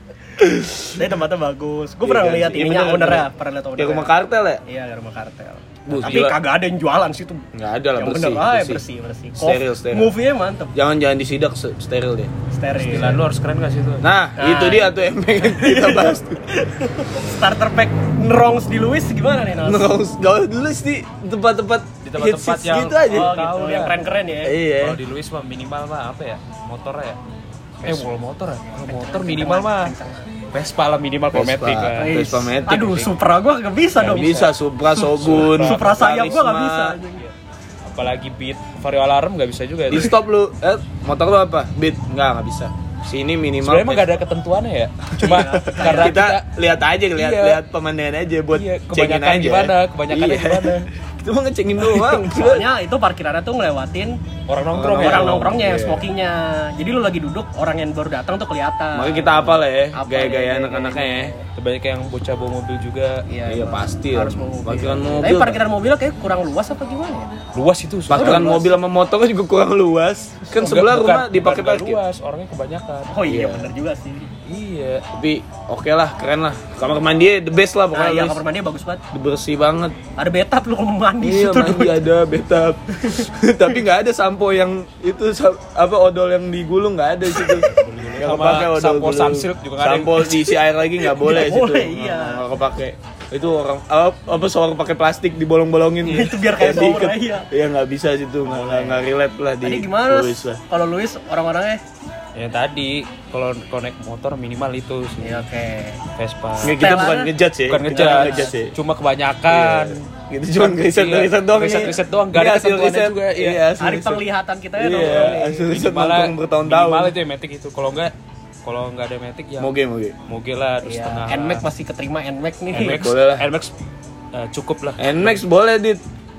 Tapi tempatnya bagus. Gue pernah Iya, lihat iya, ininya bener, ownernya, bener. pernah lihat Ya ownernya. rumah kartel ya? Iya, rumah kartel. Bu, Tapi gila. kagak ada yang jualan sih tuh. Nggak ada lah, Yang bersih. bener, ah, bersih. bersih, bersih. Steril, Kof- steril. Movie-nya mantep. Jangan jangan disidak se- steril deh. Steril. Gila, lu harus keren gak sih itu? Nah, Nah, itu dia tuh yang pengen kita bahas tuh. Starter pack Nrongs di Luis gimana nih, Nas? Nongkrong gak dulu sih tempat-tempat Di tempat-tempat hits-hits yang- gitu aja. Oh, Tahu gitu. lah. Yang keren-keren ya. Iya. Kalau di Luis mah minimal mah apa ya? Motor ya? Eh, kalau motor ya? Kalau motor minimal mah Vespa lah minimal kalau Vespa. Matic lah. Iya. Vespa Matic. Aduh, Supra gua gak bisa Nggak dong. bisa Supra Shogun. Supra sayap gua gak Karisma. bisa. anjing. Apalagi Beat Vario Alarm gak bisa juga. Di stop lu. Eh, motor lu apa? Beat. Enggak, enggak bisa. Sini minimal. Sebenarnya emang gak ada ketentuannya ya. Cuma karena kita, kita, lihat aja, lihat Iya. lihat pemandangan aja buat iya, cengin kebanyakan aja. gimana, kebanyakannya Iya. gimana. Kita mau ngecengin doang. Soalnya itu parkirannya tuh ngelewatin Orang nongkrong ya. orang nongkrongnya yang Iya. smokingnya. Jadi lu lagi duduk, orang yang baru datang tuh kelihatan. Makanya kita apa lah ya, Apa gaya-gaya ya, anak-anaknya ya. Banyak yang bocah bawa mobil juga. Iya, Iya, emang. pasti harus ya. bawa mobil. Parkiran Tapi mobil. parkiran mobilnya kayak kurang luas apa gimana ya? Luas itu. susah. Parkiran luas. mobil sama motornya juga kurang luas. Kan Enggak, sebelah bukan- rumah dipakai bukan parkir. luas, orangnya kebanyakan. Oh iya, Iya. bener juga sih. Iya. Tapi oke lah, keren lah. Kamar mandi the best lah Nah, pokoknya. iya Luis. kamar mandinya bagus banget. Bersih banget. Ada bathtub lu kalau mau mandi Iya, situ mandi dulu. ada betap. Tapi nggak ada sampo yang itu sa- apa odol yang digulung nggak ada di situ. Nggak Sama kepake odol sampo gulung. Sunsilk juga nggak ada. Sampo diisi air lagi nggak boleh Nggak di situ. boleh, iya. Nggak kepake. Itu orang apa, apa shower pakai plastik dibolong-bolongin. Iya, itu biar kayak shower, diikat. iya. Iya nggak bisa situ, nggak nggak nggak relate lah di Tadi gimana? Luis lah. Kalau Luis orang-orangnya? Ya tadi kalau connect motor minimal itu sih. Iya oke. Vespa. Nggak, kita bukan Setelannya- ngejudge ya. Bukan Kita ngejudge, ngejudge ya. cuma kebanyakan. Iya. Gitu cuma riset Iya, riset doang riset-riset ini. doang, nggak ada Ini hasil ketentuannya riset juga, iya. Iya, hasil Hari riset. penglihatan kita ya Iya, nongkrong nih. hasil riset Minimal nongkrong bertahun-tahun. minimal itu ya Matic itu. Kalau enggak kalau enggak ada Matic ya Moge moge. moge lah terus Iya, setengah. Nmax masih keterima Nmax nih. Nmax Boleh lah. Nmax eh, cukup lah. Nmax boleh dit,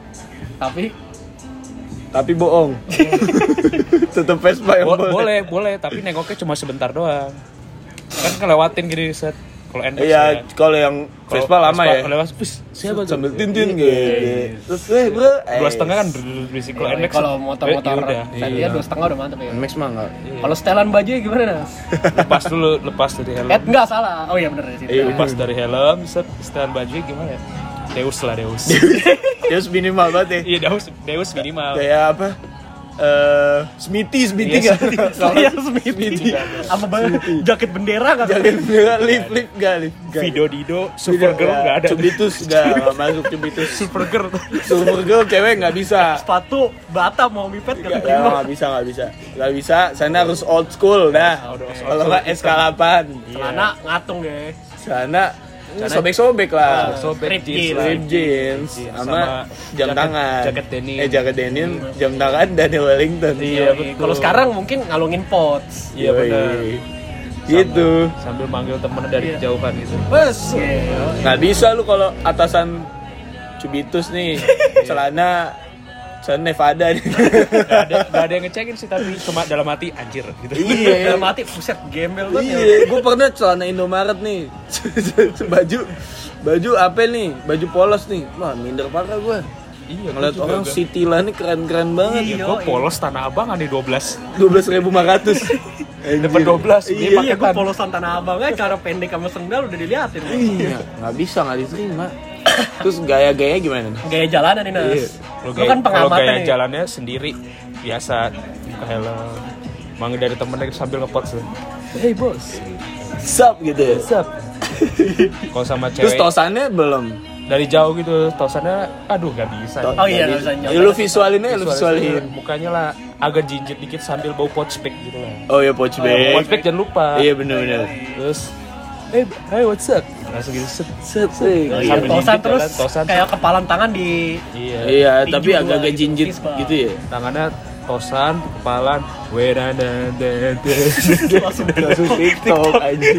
Tapi tapi bohong. Tetap Vespa yang Bo- boleh. boleh, boleh, tapi nengoknya cuma sebentar doang. Kan ngelewatin gini set. Kalau Nmax Iya, ya. kalau yang Kalau Vespa lama ya. Lewat, "Wis, siapa tuh?" Sambil tintin gitu. Iya. Terus eh bro, Dua setengah kan berisik. Kalau Iya, Nmax kalau motor-motor ya udah. tadinya dua setengah udah mantep ya. Nmax mah enggak. Kalau setelan baju gimana Nas? Lepas dulu, lepas dari helm. Eh enggak salah. Oh iya bener di situ. Iya. Lepas dari helm, set setelan baju gimana ya? Deus lah Deus. Deus minimal banget ya. Iya Deus Deus minimal. Kayak apa? Eh, Smithy, Smithy Iya, nggak? Saya Smithy. Sama banget jaket bendera kan. Jangan nggak lift, lift nggak lift. nggak. Vido Dido, Supergirl nggak ada. Cubitus nggak nggak masuk Cubitus. Supergirl. Supergirl cewek nggak bisa. Sepatu bata mau mipet Nggak nggak terima. nggak bisa nggak bisa nggak bisa. Sana harus old school dah. Kalau nggak S K delapan. Celana ngatung ya. Sana sobek-sobek lah. Sobek Rip jeans. jeans. lah. Rip jeans Iya, sama, sama jam jaket- tangan. jaket denim. Eh jaket denim, jam tangan Daniel Wellington. Iya, betul. Kalau sekarang mungkin ngalungin pots. Iya Yoi. benar. Gitu. Sambil manggil temen dari Iya. kejauhan gitu. Bes. Iya. Nggak bisa lu kalau atasan Cubitus nih celana celana Nevada nih. Gak ada, gak ada yang ngecekin sih tapi cuma dalam hati anjir gitu. Iya. Dalam hati buset gembel banget. ya. Iya, gue pernah celana Indomaret nih. baju baju apa nih? Baju polos nih. Wah, minder parah gue. Iya, Ngeliat orang City lah nih keren-keren banget. Iya. Gue polos Tanah Abang ada dua belas. dua belas ribu lima ratus. Dapat dua belas. Iya, Iya, gue polosan Tanah Abang aja cara pendek sama sendal udah diliatin. Iya, nggak bisa, nggak diterima. Terus gaya-gaya gimana nih? Gaya jalanan nih Nas. Iya. Lo Lu kan kalau pengamatan gaya nih. jalannya sendiri biasa buka helm. Manggil dari temennya sambil nge-pots tuh. Hey bos, Sup gitu ya. sup. Kalau sama Terus cewek tosannya belum. dari jauh gitu, tosannya aduh gak bisa. Oh iya, nggak bisa Ya, lu visualin aja, lu visualin. Mukanya lah agak jinjit dikit sambil bau pouch bag gitu lah. Oh ya, pouch bag. Pouch bag jangan lupa. Iya bener-bener. Terus hey, hey what's up? Langsung gitu set. Set sih. Oh, iya, Sambil tosan jinjit terus jalan, tosan. kayak kepalan tangan di Iya. Iya, Tinju tapi dua agak-agak gitu, jinjit fistbump. gitu ya. Tangannya tosan, kepalan, wedana Langsung TikTok anjing.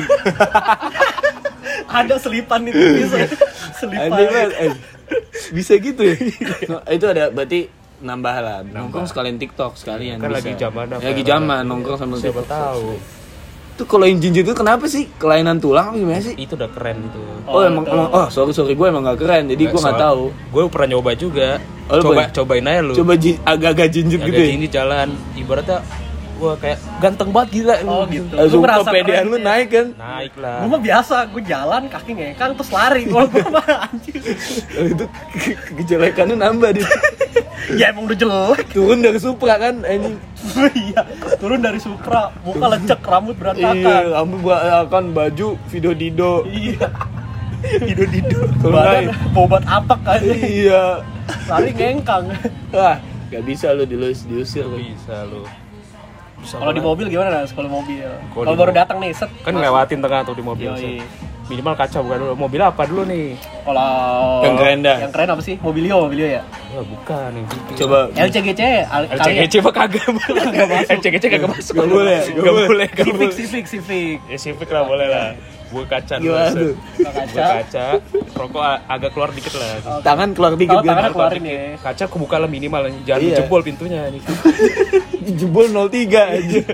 ada selipan itu bisa. Selipan. Anjing banget. eh. Bisa gitu ya. Itu ada berarti nambah lah. Nongkrong sekalian TikTok sekalian. Kan bisa. lagi zaman apa? Ya, lagi zaman nongkrong sama Siapa TikTok. tahu. Itu kalau yang jinjit itu kenapa sih? Kelainan tulang apa gimana sih? Itu udah keren gitu. Oh, Oh, emang, itu. emang oh sorry sorry gue emang gak keren jadi gue nggak tahu. Gue pernah nyoba juga. Oh, lu Coba pernah? cobain aja lu. Coba ji- agak-agak jinjit Agak gitu ya. ini jalan. Ibaratnya gua kayak ganteng banget gila. Oh gitu. Langsung Lu merasa kepedean keren lu ya. naik kan. Naik lah. Gue mah biasa, gue jalan kaki ngekang terus lari. Kalau gue mah anjir. Oh, itu ke- kejelekannya nambah dia. Ya emang udah jelek. Turun dari Supra kan anjing. Iya, turun dari Supra, muka lecek, rambut berantakan. Iya, kamu gua akan baju video dido. Iya. Dido dido. Kalau Badan nggak- bobat apak kan. Iya. Lari ngengkang. Wah, gak bisa lu dilus diusir lu. Bisa lu. Bisa Kalau di banget. mobil gimana Nas? Kalau mobil. Kalau Kalau di baru mobil. datang nih, set. Kan ngelewatin tengah tuh di mobil. Yoi. set. Minimal kaca bukan dulu. Mobil apa dulu nih? Kalau Yang keren dah. Yang keren apa sih? Mobilio, Mobilio ya. Wah, bukan yang gitu. Coba L C G C al- L C G C mah kagak Nggak masuk. L C G C kagak masuk. Nggak boleh, nggak Nggak boleh. boleh. nggak Civic, boleh. Civic, Civic. Ya Civic lah boleh lah. Gue kaca dulu. gimana set. tuh? Buka Gue kaca. kaca. Rokok a- agak keluar dikit lah. Tangan keluar dikit Kalau tangannya kan. keluarin ya. Kaca kebuka lah minimal. Jangan Iya. jebol pintunya nih. Jebol nol tiga aja.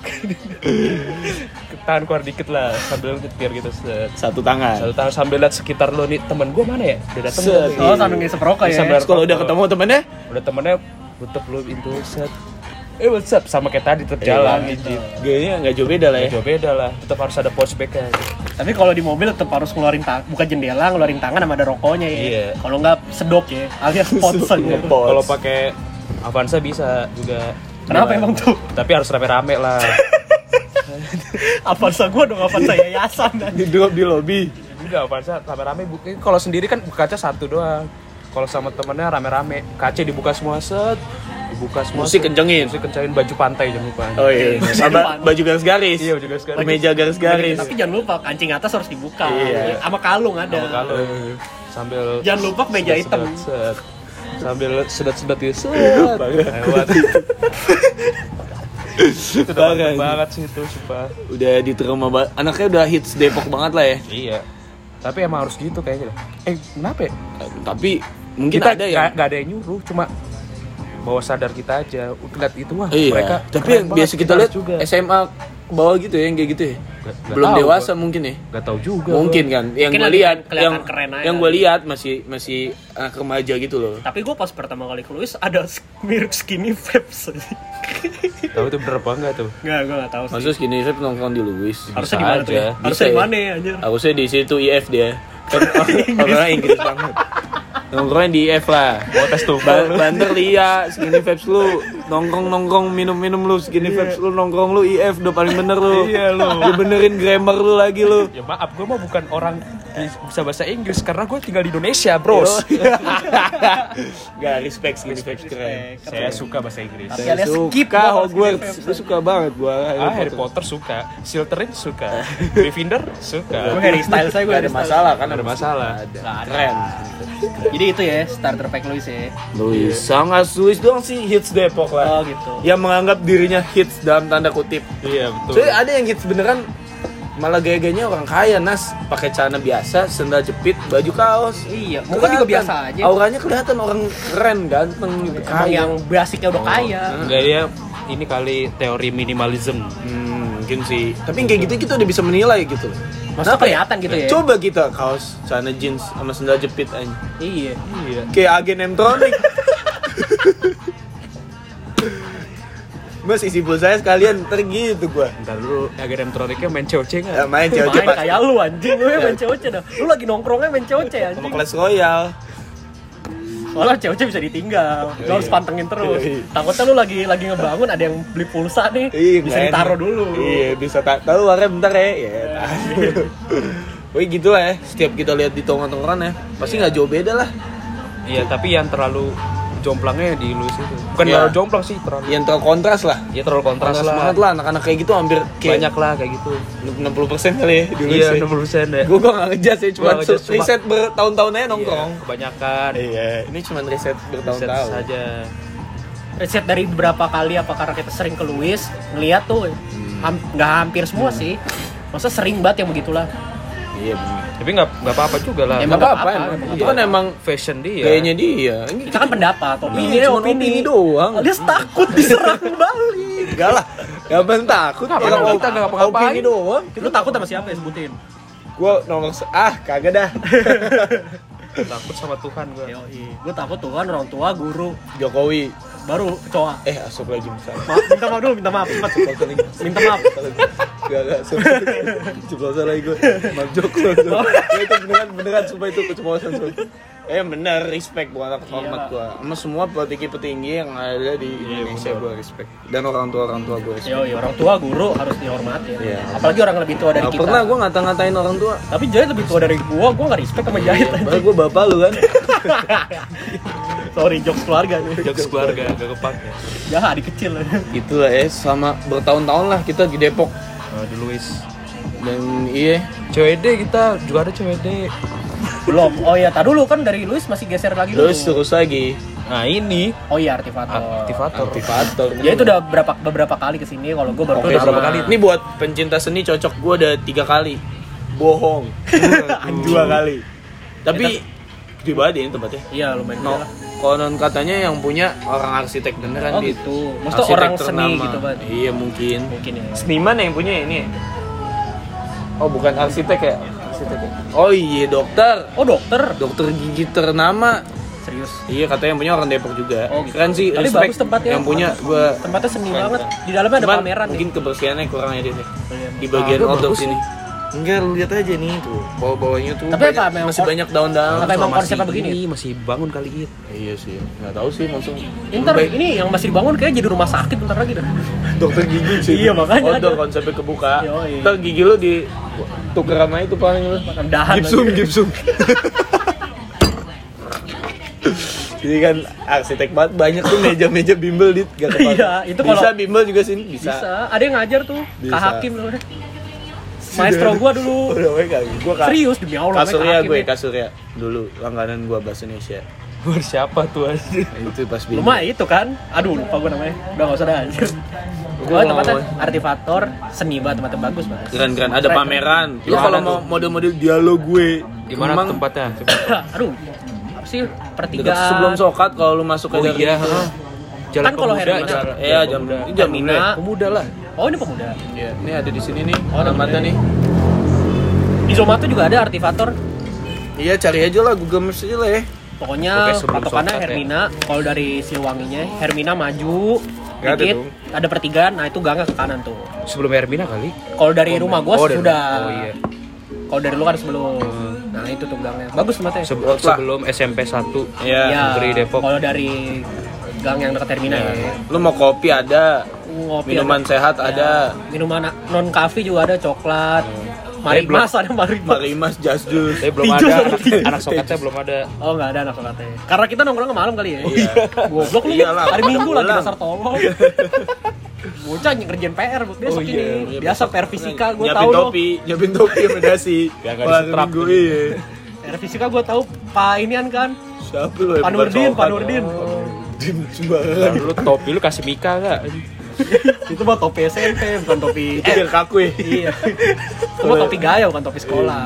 Tangan keluar dikit lah sambil nyetir gitu set. Satu tangan. Satu tangan sambil lihat sekitar lo nih temen gue mana ya? Udah dateng Set. belum nih? Oh, sambil ngisep rokok ya. Sambil- Terus kalau udah ketemu temennya, Udah temennya tutup lu pintu set. Eh what's up sama kayak tadi tetap jalan Iya. gitu. gayanya nggak jauh beda lah ya. Jauh beda lah. Tetap harus ada pouch bag kan. Tapi kalau di mobil tetap harus ngeluarin tangan, buka jendela, ngeluarin tangan sama ada rokoknya ya. Iya. Kalau nggak sedok ya, alias pots aja. Pots. Kalau pakai Avanza bisa juga. Kenapa Cuma- emang tuh? Tapi harus rame-rame lah. Avanza gua dong, Avanza yayasan. Di drop di lobby. Enggak Avanza rame-rame. bu- Kalau sendiri kan kaca satu doang. Kalau sama temennya rame-rame, kaca dibuka semua set, dibuka semua. Musik set. kencengin. Musik kencengin, baju pantai jangan lupa. Oh iya. Sama baju garis-garis. Iya, baju garis-garis. Kemeja garis-garis. Tapi jangan lupa kancing atas harus dibuka. Iya. Sama kalung ada. Sama kalau sambil Jangan lupa meja sedot- hitam. sedot, set. Sambil sedot-sedot gitu. Set. Lewat. Itu udah mantep banget sih itu, sumpah. Udah diterima banget. Anaknya udah hits Depok banget lah ya. Iya. Tapi emang harus gitu kayaknya. Eh, kenapa ya? Tapi mungkin Kita ada ya. nggak nggak ada yang nyuruh, cuma bawa sadar kita aja. Lihat itu wah, Iya. mereka Tapi keren yang banget, biasa kita harus lihat juga. S M A ke bawah gitu ya, yang kayak gitu ya. Nggak- nggak Belum tahu, dewasa gua. mungkin ya. Nggak tahu juga. Mungkin gua. kan. Yang Mungkin gue lagi lihat, kelihatan yang keren aja yang kali. gue lihat masih masih anak remaja gitu loh. Tapi gue pas pertama kali ke Louis ada mirip skinny vapes. Tahu itu bener apa enggak tuh? Nggak, gue nggak tahu sih. Maksudnya skinny vape nongkrong di Louis. Harusnya bisa di mana tuh? aja. ya? Bisa Harusnya di ya. mana ya anjir? Harusnya di situ I F dia. Kan orang Inggris banget. Nongkrongnya di I F lah. Mau tes tuh. Ba- Banter Lia, Skinny Vibes lu nongkrong-nongkrong minum-minum lu, Skinny Vibes lu nongkrong lu I F udah paling bener lu. Iya, lu. Lu benerin grammar lu lagi lu. Ya maaf, gue mah bukan orang bisa bahasa Inggris karena gue tinggal di Indonesia, bros. Gak respect Skinny Vibes keren. Saya suka bahasa Inggris. Tapi Saya alias skip suka gua kalau Hogwarts, Skinny Vibes. gue suka banget gua Ah, Harry Potter suka, Slytherin suka, Gryffindor suka. Gue Harry Styles saya gue Gak ada masalah kan, Ada masalah. Ada. Nggak ada. Keren. Jadi itu ya starter pack Luis ya. Luis, sangat Luis doang sih hits Depok lah. Oh gitu. Yang menganggap dirinya hits dalam tanda kutip. Iya betul. Soalnya ada yang hits beneran malah gaya-gayanya orang kaya Nas, pakai celana biasa, sendal jepit, baju kaos. Iya, muka juga Kelihatan. biasa aja. Auranya kelihatan orang keren, ganteng gitu. Emang Kaya. yang basicnya udah kaya. Enggak, dia ini kali teori minimalism. Hmm, mungkin sih. Tapi kayak gitu kita udah bisa menilai gitu. Maksudnya Kenapa ya? kelihatan gitu ya. Coba kita kaos, celana jeans sama sendal jepit aja. Iya. Iya. Kayak agen M-Tronic. Mas isi pulsa saya sekalian ntar gitu gua. Ntar dulu, agar M-Tronicnya main C O C Ya, nggak? main Main cewek kayak lu anjing, lu main C O C dah. Lu lagi nongkrongnya main C O C sama anjing. Clash Royale. Soalnya C O C bisa ditinggal. Lu harus pantengin terus. Iya. Takutnya lu lagi lagi ngebangun ada yang beli pulsa nih. Iya, Bisa nggak ditaruh enak. dulu. Iya, bisa tak tahu warnanya bentar ya. Ya, tahu. Wih gitu lah ya. Setiap kita lihat di tongkrongan ya, pasti nggak jauh beda lah. Iya, tapi yang terlalu jomplangnya di Luis itu. Bukan Iya. terlalu jomplang sih, terlalu. Yang terlalu kontras lah. Ya terlalu kontras, Kontras lah. banget lah. Anak-anak kayak gitu hampir kayak Banyak lah kayak gitu. enam puluh persen kali ya dulu Iya, sih. enam puluh persen deh. Gue gue nggak ngejudge ya, cuma Gua ngejudge, cuma- riset bertahun-tahun aja nongkrong. Iya, kebanyakan. Iya, ini cuma riset Set bertahun-tahun. saja. Riset dari beberapa kali apa karena kita sering ke Luis ngeliat tuh ham- nggak hampir semua sih. Masa sering banget yang begitulah. Iya benar. Tapi nggak nggak apa-apa juga lah. Ya, Nggak nggak apa-apa, apa-apa, emang. nggak Itu kan emang Fashion dia. gayanya dia. Ini Kita kan pendapat, opini Iya, ya cuma opini. opini doang. Alias takut diserang balik. enggak lah. Gak bener takut. Nggak Orang apa-apa, op- kita nggak ngapa-ngapain. Opini doang. Lu takut sama siapa ya sebutin? Gue nomor se- ah kagak dah. Takut sama Tuhan gua. Yoi, gue takut tuh kan orang tua, guru, Jokowi. baru kecoa. Eh asuk lagi misalnya. Maaf, minta maaf dulu, minta maaf, cepat. Minta maaf. Gak gak ceplosan lagi gue. Maaf Joko. Ya, itu beneran beneran sumpah itu keceplosan sumpah. Eh bener respect bukan anak hormat Iya. gue. Sama semua petinggi-petinggi yang ada di Indonesia gue respect. Dan orang tua orang tua gue respect. Yoi, orang tua, guru harus dihormati. Iya. Apalagi orang lebih tua dari Gak kita. pernah gue ngata-ngatain orang tua. Tapi Jahit lebih tua dari gua, gua gak respect sama Jahit anjing. Padahal gue bapak lu kan. Sorry, jokes keluarga nih. Jokes keluarga gak kepake. Jahat, adik kecil. Itulah ya sama bertahun-tahun lah kita di Depok. Oh, di Luis. Dan iya C W D kita juga ada C W D. Belum. Oh iya, tadi dulu kan dari Luis masih geser lagi dulu. terus terus lagi Nah, ini Oh iya, Artifator. aktivator. aktivator. Ya itu udah berapa beberapa kali kesini, kalau gua baru Oke, pertama. berapa kali? Ini buat pencinta seni cocok gue ada tiga kali. Bohong. Dua kali. Tapi gede banget ya ini tempatnya. Iya, lumayan No, gede lah. konon katanya yang punya orang arsitek beneran Oh di- gitu. Maksudnya arsitek orang seni ternama. gitu kan. Iya mungkin. Mungkin ya. Seniman yang punya ini. Oh bukan arsitek ya? Arsitek ya? Oh iya dokter. Oh, dokter. Dokter gigi ternama. Serius. Iya katanya yang punya orang Depok juga. Oh, gitu. Keren sih. Tapi respect. bagus tempatnya. Yang punya gue. Tempatnya seni banget. Di dalamnya ada Cuman pameran mungkin nih. kebersihannya kurang ya dia. Iya. Di bagian Ah, outdoor bagus sini. Enggak, lu lihat aja nih tuh. Bawah-bawahnya tuh Tapi banyak- apa, memang masih kon- banyak daun-daun. apa emang Masih konsepnya begini? ini, masih bangun kali it. Iya sih. Enggak tahu sih langsung. Ntar Baik. ini yang masih dibangun kayak jadi rumah sakit bentar lagi dah. Dokter gigi sih. Iya, makanya Outdoor ada. konsepnya kebuka. Yoi. Ntar gigi lu di tuker sama itu paling lu. Dahan Gipsum, lagi. gipsum. Jadi kan arsitek banget banyak tuh meja-meja bimbel dit gak kepake. Iya, itu kalau- bisa bimbel juga sini bisa. Bisa. Ada yang ngajar tuh. Bisa. Kak Hakim tuh. Maestro gua dulu. Udah gue kagak. Gua Kak. Serius demi Allah. Kasurya Kak Hakim gue, nih. Kasurya. Dulu langganan gua bahasa Indonesia. Buat siapa tuh aja? Itu pas Lu mah itu kan. Aduh, lupa gua namanya. Udah enggak usah dah anjir. Gua Oh, tempatnya mau- Artifator, seni banget, tempatnya bagus banget. Keren-keren, ada Keren. pameran. Lu Iya, kalau ada mau tuh. model-model dialog gue Di mana Kemang, tempatnya? Aduh, apa sih dekat pertigaan? sebelum Sokat kalau lu masuk Oh ke dari iya, itu. heeh. Jalan Kan kalau Pemuda, Hermina- jalan- Iya, jam Pemuda. ini jam Hermina. ini. Pemuda lah. Oh, ini pemuda. Iya, ini ada di sini nih. Oh, ada alamatnya di- nih. Di Zomato juga ada Artifator. Iya, cari aja lah Google Maps aja lah ya. Pokoknya Oke, sebelum patokannya Sokat ya. Hermina. Kalau dari Siliwanginya, Hermina maju Nggak ada dikit, dong. ada pertigaan. Nah, itu gangga ke kanan tuh. Sebelum Hermina kali. Kalau dari rumah gua Oh, dari- sudah. Oh iya. Kalau dari lu kan sebelum. Nah, Nah itu tuh gangnya. Bagus tempatnya. Se- Worth lah. sebelum S M P satu Iya. Ya, Negeri Depok. kalau dari gang yang dekat terminal ya. Lu mau kopi ada, Ngopi minuman ada. sehat Ya, ada. Minuman non kafe juga ada, coklat. Tapi belum- Marimas ada Marimas. Marimas, Just Juice. Tapi belum Hijau ada sama anak, hijau. anak soketnya belum ada. Oh nggak ada anak sokatnya. Karena kita nongkrong malam kali ya. Iya. Goblok lu. Iyalah, Hari Minggu lagi pulang. dasar tolol. Bocah ngerjain P R besok Oh, ini. iya. Biasa P R fisika gue Nyiapin tahu loh. topi, nyiapin topi sama dasi. Biar nggak Kalau hari disetrap Minggu, tuh. iya. P R fisika gue tahu Pak inian kan. Siapa lu ya? Pak bukan Nurdin, sokat. Pak Nurdin. Oh, Nurdin Nah, sembarangan. lu topi lu kasih Mika enggak? Itu mah topi S M P bukan topi. Itu biar kaku ya. Iya. Itu mah topi gaya bukan topi sekolah.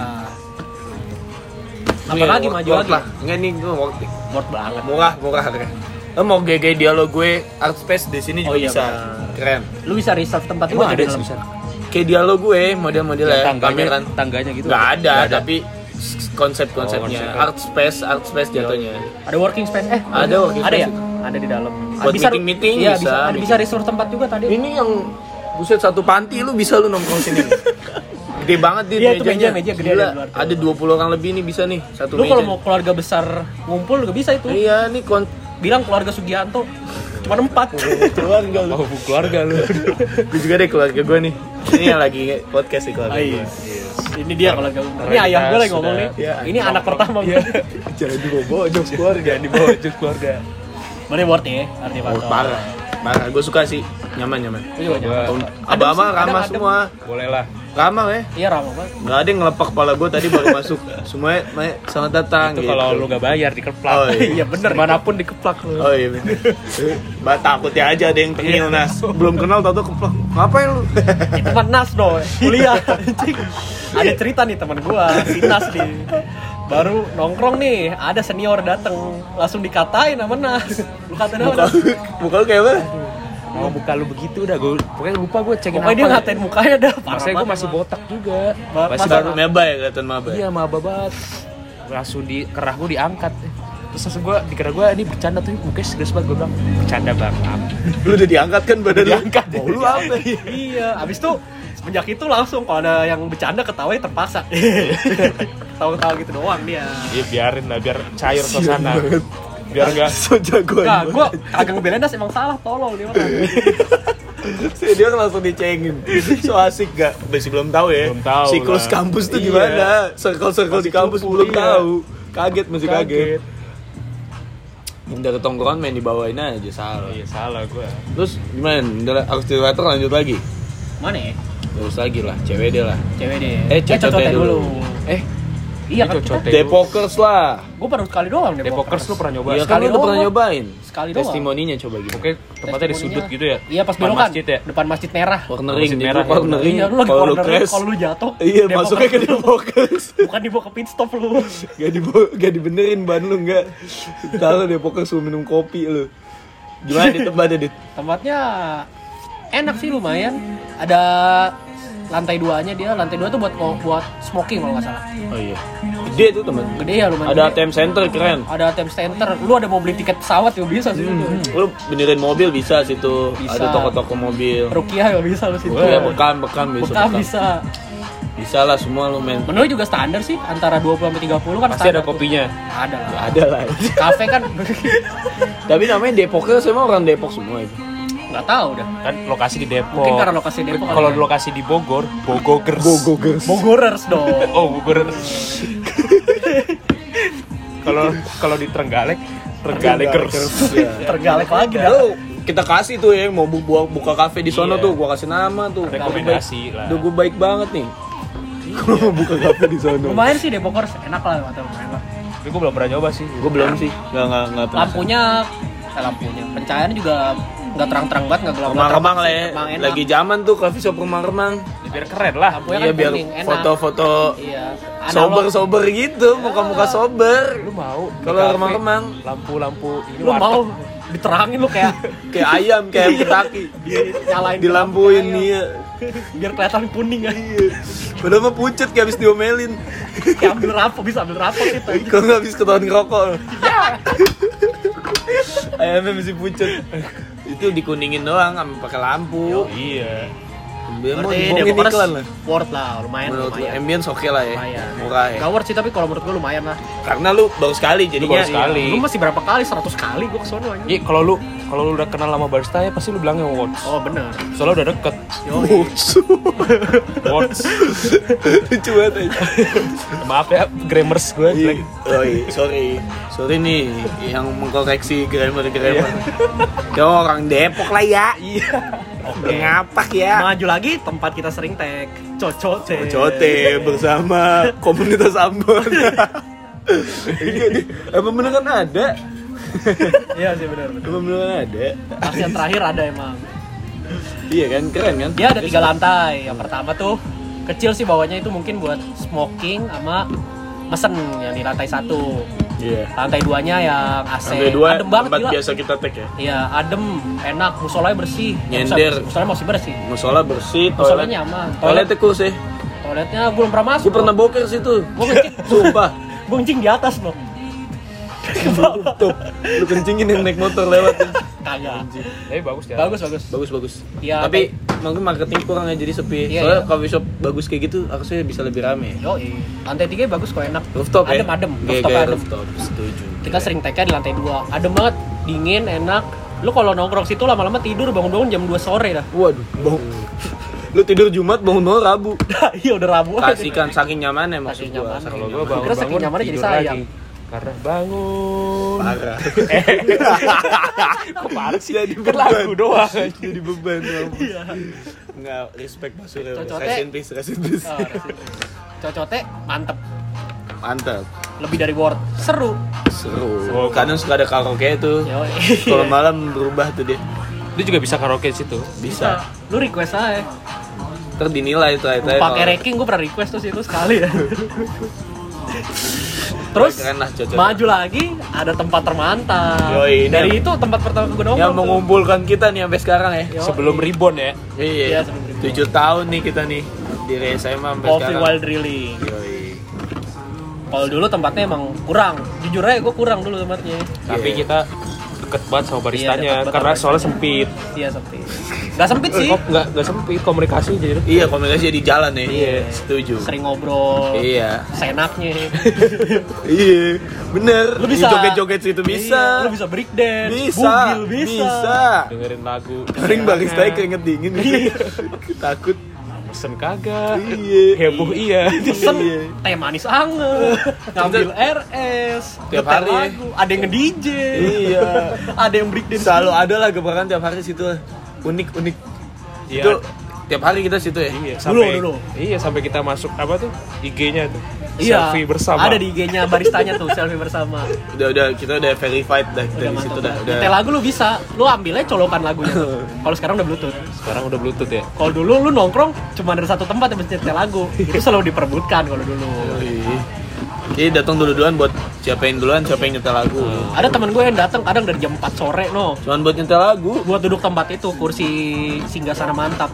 Apa lagi maju Worth lagi? lah. Enggak nih gue worth it. Worth banget. Murah, murah harga. Lo mau G G dialog gue, art space di sini juga Oh iya, bisa. benar. Keren. Lu bisa reserve tempat Emang juga ada di dalam. bisa. Kayak dialog gue, model-modelnya Tangganya, pameran. tangganya gitu. Nggak ada, Nggak ada. tapi s- konsep-konsepnya Oh, konsepnya. art space, art space jatuhnya. Ada working space eh Ada working ada space ya? itu. Ada di dalam. Buat meeting-meeting iya, bisa, bisa. Ada meeting. bisa reserve tempat juga tadi. Ini yang buset satu panti lu bisa lu nongkrong sini. Gede banget di Iya, itu mejanya. meja- meja gede Gila, ada di luar tuh. ada dua puluh orang lebih nih bisa nih satu Lu meja. kalau mau keluarga besar ngumpul juga bisa itu. Iya, nih kon Bilang keluarga Sugianto cuma empat. keluarga lu. Oh, keluarga lu. Gue juga deh keluarga gue nih. Ini yang lagi podcast nih keluarga Ah, gue. iya. Ini dia kalau gak Karena Ini ayah kita gue lagi ngomong sudah- nih. Iya, Ini anak pertama gue. Jangan dibawa jokes keluarga. Jangan dibawa jus keluarga. Mana worth ya? Arti Oh, parah. Parah, gue suka sih. Nyaman-nyaman. Iya, Gua- nyaman. Abang-abang Adem sih, ramah adem, semua. Boleh lah. Ramah ya. Iya ramah banget. Nggak ada yang ngelepak kepala gue tadi baru masuk. Semuanya, "Mae, selamat datang." Itu gitu. kalau lu gak bayar dikeplak. Oh, iya. Iya bener. Dimanapun dikeplak lu. Oh iya bener. Bah, takutnya aja ada yang tengil nas. Belum kenal tau-tau keplak. Ngapain lu? Itu teman Nas dong, kuliah. Anjing. Ada cerita nih teman gua, si Nas nih. Baru nongkrong nih, ada senior dateng, langsung dikatain sama Nas. Lu katain Muka, apa? muka lu kayak apa? Mau muka lu begitu udah gue pokoknya lupa gue cekin Pokoknya dia apa. ngatain mukanya dah. parah Masanya gue banget masih emang. botak juga. Ba- Masih masa- baru Maba ya kelihatan maba. iya maba banget. Langsung di kerah gue diangkat. Terus langsung gue dikira gue ini bercanda tuh mukanya serius banget gue bilang bercanda bang. Lu udah diangkat kan badan lu? Diangkat. Mau lu apa? Iya, abis itu semenjak itu langsung kalau ada yang bercanda ketawa terpaksa. Ketawa-ketawa gitu doang dia. Iya biarin lah biar cair suasana. Biar enggak So jagoan. Nah, gua kagak ngebelain Das emang salah tolol dia orang. Si dia langsung dicengin. So asik gak? Masih belum tahu ya. Belum tahu Siklus lah. kampus tuh Iya. gimana? Circle-circle di Masih kampus cupu, belum iya. tahu. Kaget masih kaget. kaget. Yang dari tongkrongan main dibawain aja salah. Iya salah gue. Terus gimana? Udah akselerator lanjut lagi. Mana ya? Terus lagi lah, cewek deh lah. Cewek deh. Eh, cocotnya dulu. Eh, iya kan kita. Cocotnya. Depokers lah. Gua baru sekali doang deh. Depokers lu pernah nyoba? Iya kan Sekali lu udah pernah doang. nyobain. Sekali doang. Testimoninya coba gitu. Oke, tempatnya di sudut gitu ya? Iya pas Depan belokan. masjid ya? Depan masjid merah. Cornering Masjid nih, merah gua ya, cornering. Iya, lu lagi Kalau lu cornering, crash. kalau lu jatuh. Iya, Depokers. masuknya ke Depokers. Bukan dibawa ke pit stop lu. Gak dibo gak dibenerin ban lu enggak. Tahu Depokers lu minum kopi lu. Gimana di tempatnya, Dit? Tempatnya enak sih lumayan. Ada lantai duanya dia, lantai dua tuh buat buat smoking kalau nggak salah. Oh iya. Gede tuh, teman. Gede ya lumayan. Ada A gede. T M center keren. Ada A T M center. Lu ada mau beli tiket pesawat juga bisa sih. Lu benerin mobil bisa situ. Bisa. Ada toko-toko mobil. Rukiah juga bisa lu situ. Iya, bekam, bekam bisa. Bekam bisa. Bisa lah semua lu main. Menu juga standar sih, antara dua puluh sampai tiga puluh kan Pasti ada standar tuh. kopinya. Ada lah. Ada lah. Kafe kan Tapi namanya Depokers emang orang Depok semua itu. nggak tahu dah. Kan lokasi di Depok. Mungkin karena lokasi Depok. Kalau kali ya. lokasi di Bogor, Bogogers. Bogogers. Bogorers dong. Oh, Bogor. Kalau kalau di Trenggalek, Trenggalekers. Iya. Tergalek lagi dah. Lu kita kasih tuh ya mau bu- bu- buka kafe di sono Iya. tuh, gua kasih nama tuh. Rekomendasi lah. Udah gua baik banget nih. Gua mau buka kafe di sono. Lumayan sih Depokers, enak lah atau lumayan lah. Tapi gue belum pernah nyoba sih. Gua belum sih. Enggak enggak enggak pernah. Lampunya, eh, lampunya, pencahayaannya juga nggak terang-terang banget, nggak gelap. Remang-remang lah ya. Emang enak. Lagi zaman tuh coffee shop remang-remang. Biar keren lah. Lampunya Iya kan biar kuning, enak. foto-foto Iya. sober-sober gitu, muka-muka sober. Lu mau? di Kalau kafe, remang-remang. lampu-lampu ini Lu warteg. mau diterangin lu kayak Kayak ayam, kayak ayam Kentucky. nyalain Dilampuin lampu nih. biar kelihatan kuning kan. Padahal mah pucet kayak habis diomelin. Kayak ambil rapot, bisa ambil rapot gitu. Kalau nggak habis ketahuan ngerokok. Ayamnya masih pucet. Itu dikuningin doang sama pakai lampu. Iya. Dia mau Berarti dibohongin Depokers iklan lah. worth lah, lumayan Menurut lu lumayan. ambience oke lah ya. Lumayan. Murah ya. Gak worth sih, tapi kalau menurut gue lumayan lah. Karena lu baru sekali jadinya. baru sekali. Lu masih berapa kali? seratus kali gue kesono aja. Iya, kalau lu kalau lu udah kenal sama barista ya pasti lu bilangnya Words. Oh bener. Soalnya udah deket. Words. Lucu banget aja. Maaf ya, grammars gue jelek. Oh iya, sorry. Sorry nih yang mengkoreksi grammar-grammar. Kau orang Depok lah ya. Iya. Oke. Ngapak ya. Maju lagi tempat kita sering tag. Cocote. Cote bersama komunitas Ambon. Iya, di- emang beneran ada? Iya sih benar. Emang beneran ada? Pas yang terakhir ada emang. Iya kan, keren kan? Dia ada tiga lantai. Yang pertama tuh kecil sih bawahnya itu mungkin buat smoking sama mesen yang di lantai satu. Iya. Lantai duanya yang A C. Lantai dua Adem banget tempat gila. biasa kita tag ya. Iya, adem, enak, musolanya bersih. Nyender. Musolanya masih bersih. Musola bersih, Musolanya toilet nyaman. Toiletnya cool sih. Toiletnya gue belum pernah masuk. Gue pernah boker situ. Gue kencing, Sumpah. gue kencing di atas loh. Tuh, lu kencingin yang naik motor lewat. Kagak. Tapi bagus ya. Bagus bagus. Bagus bagus. Iya, Tapi mungkin marketing kurang ya jadi sepi. Iya, Soalnya iya. coffee shop bagus kayak gitu harusnya bisa lebih rame. Yo, lantai tiga bagus kok enak. Rooftop ya? Adem adem. Kayak Rooftop kayak adem. rooftop, setuju. Kita sering tag-nya di lantai dua. Adem banget, dingin, enak. Lu kalau nongkrong situ lama-lama tidur bangun-bangun jam dua sore dah. Waduh, bau. Lu tidur Jumat bangun-bangun Rabu. Iya udah Rabu aja. Kasihkan saking nyamannya maksud Saking gua. nyaman. Saking Kalau nyaman. gue bangun Kira saking bangun nyamannya jadi tidur sayang. lagi. Karena bangun. Parah. Kok parah sih? Jadi Kan beban. lagu doang. Jadi beban. Iya. Enggak, respect Mas Surya. Cocoknya- Rest in peace, rest in peace. Oh, resip. Cocote mantep. Mantap. Lebih dari worth. Seru. Seru. Kadang suka ada karaoke tuh. Yo. Kalau malam berubah tuh dia. Dia juga bisa karaoke di situ. Bisa. Lu request aja. Ntar dinilai tuh itu. Pakai ranking gue pernah request tuh situ sekali ya. Terus Keren lah, cocok. maju lagi ada tempat termantap. Yoi, ini Dari yang- itu tempat pertama gue nongkrong. Yang tuh. mengumpulkan kita nih sampai sekarang ya. Yo. Sebelum ribon ya. Iya. Iya, sebelum ribut. tujuh tahun nih kita nih di S M A sampai Coffee sekarang. While Drilling. Yoi. Kalau dulu tempatnya emang kurang. Jujur aja gue kurang dulu tempatnya. Tapi Iya. kita deket banget sama Iya, baristanya deket banget karena sama soalnya baristanya. sempit. Iya sempit. Gak sempit sih. Kok nggak nggak sempit komunikasi jadi. Iya, komunikasi di jalan ya. Iya. Setuju. Sering ngobrol. Iya. Senaknya. Iya. Bener. Lu bisa Di joget-joget situ bisa. Iya, lu bisa break dance. Bisa. Bugil bisa. Bisa. Dengerin lagu. Paling baristanya keringet dingin. Iya. Takut. Pesen kagak. Iya. Heboh iya. Pesen Iya. teh manis anget, ngambil R S, Tiap ngetel hari ya. lagu, ada yang nge-D J, Iya. ada yang break dance. Selalu ada lah gebrakan tiap hari situ. Unik-unik. Iya. Itu tiap hari kita situ ya. Iya, Dulu, sampai dulu. Iya, sampai kita masuk apa tuh? I G-nya tuh. Iya, Selfie bersama. ada di I G-nya baristanya tuh, selfie bersama. Udah udah kita udah verified dah kita Udah di situ mantap. dah. Nyetel Udah. lagu lu bisa, lu ambilnya colokan lagunya tuh. Kalau sekarang udah Bluetooth. Sekarang udah Bluetooth ya. Kalau dulu lu nongkrong cuma ada satu tempat yang mesti nyetel lagu. Itu selalu diperebutkan kalau dulu. Iya. Jadi datang dulu-duluan buat siapa yang duluan, siapa yang nyetel lagu. Ada teman gue yang datang kadang dari jam empat sore no. Cuman buat nyetel lagu. Buat duduk tempat itu, kursi singgasana mantap.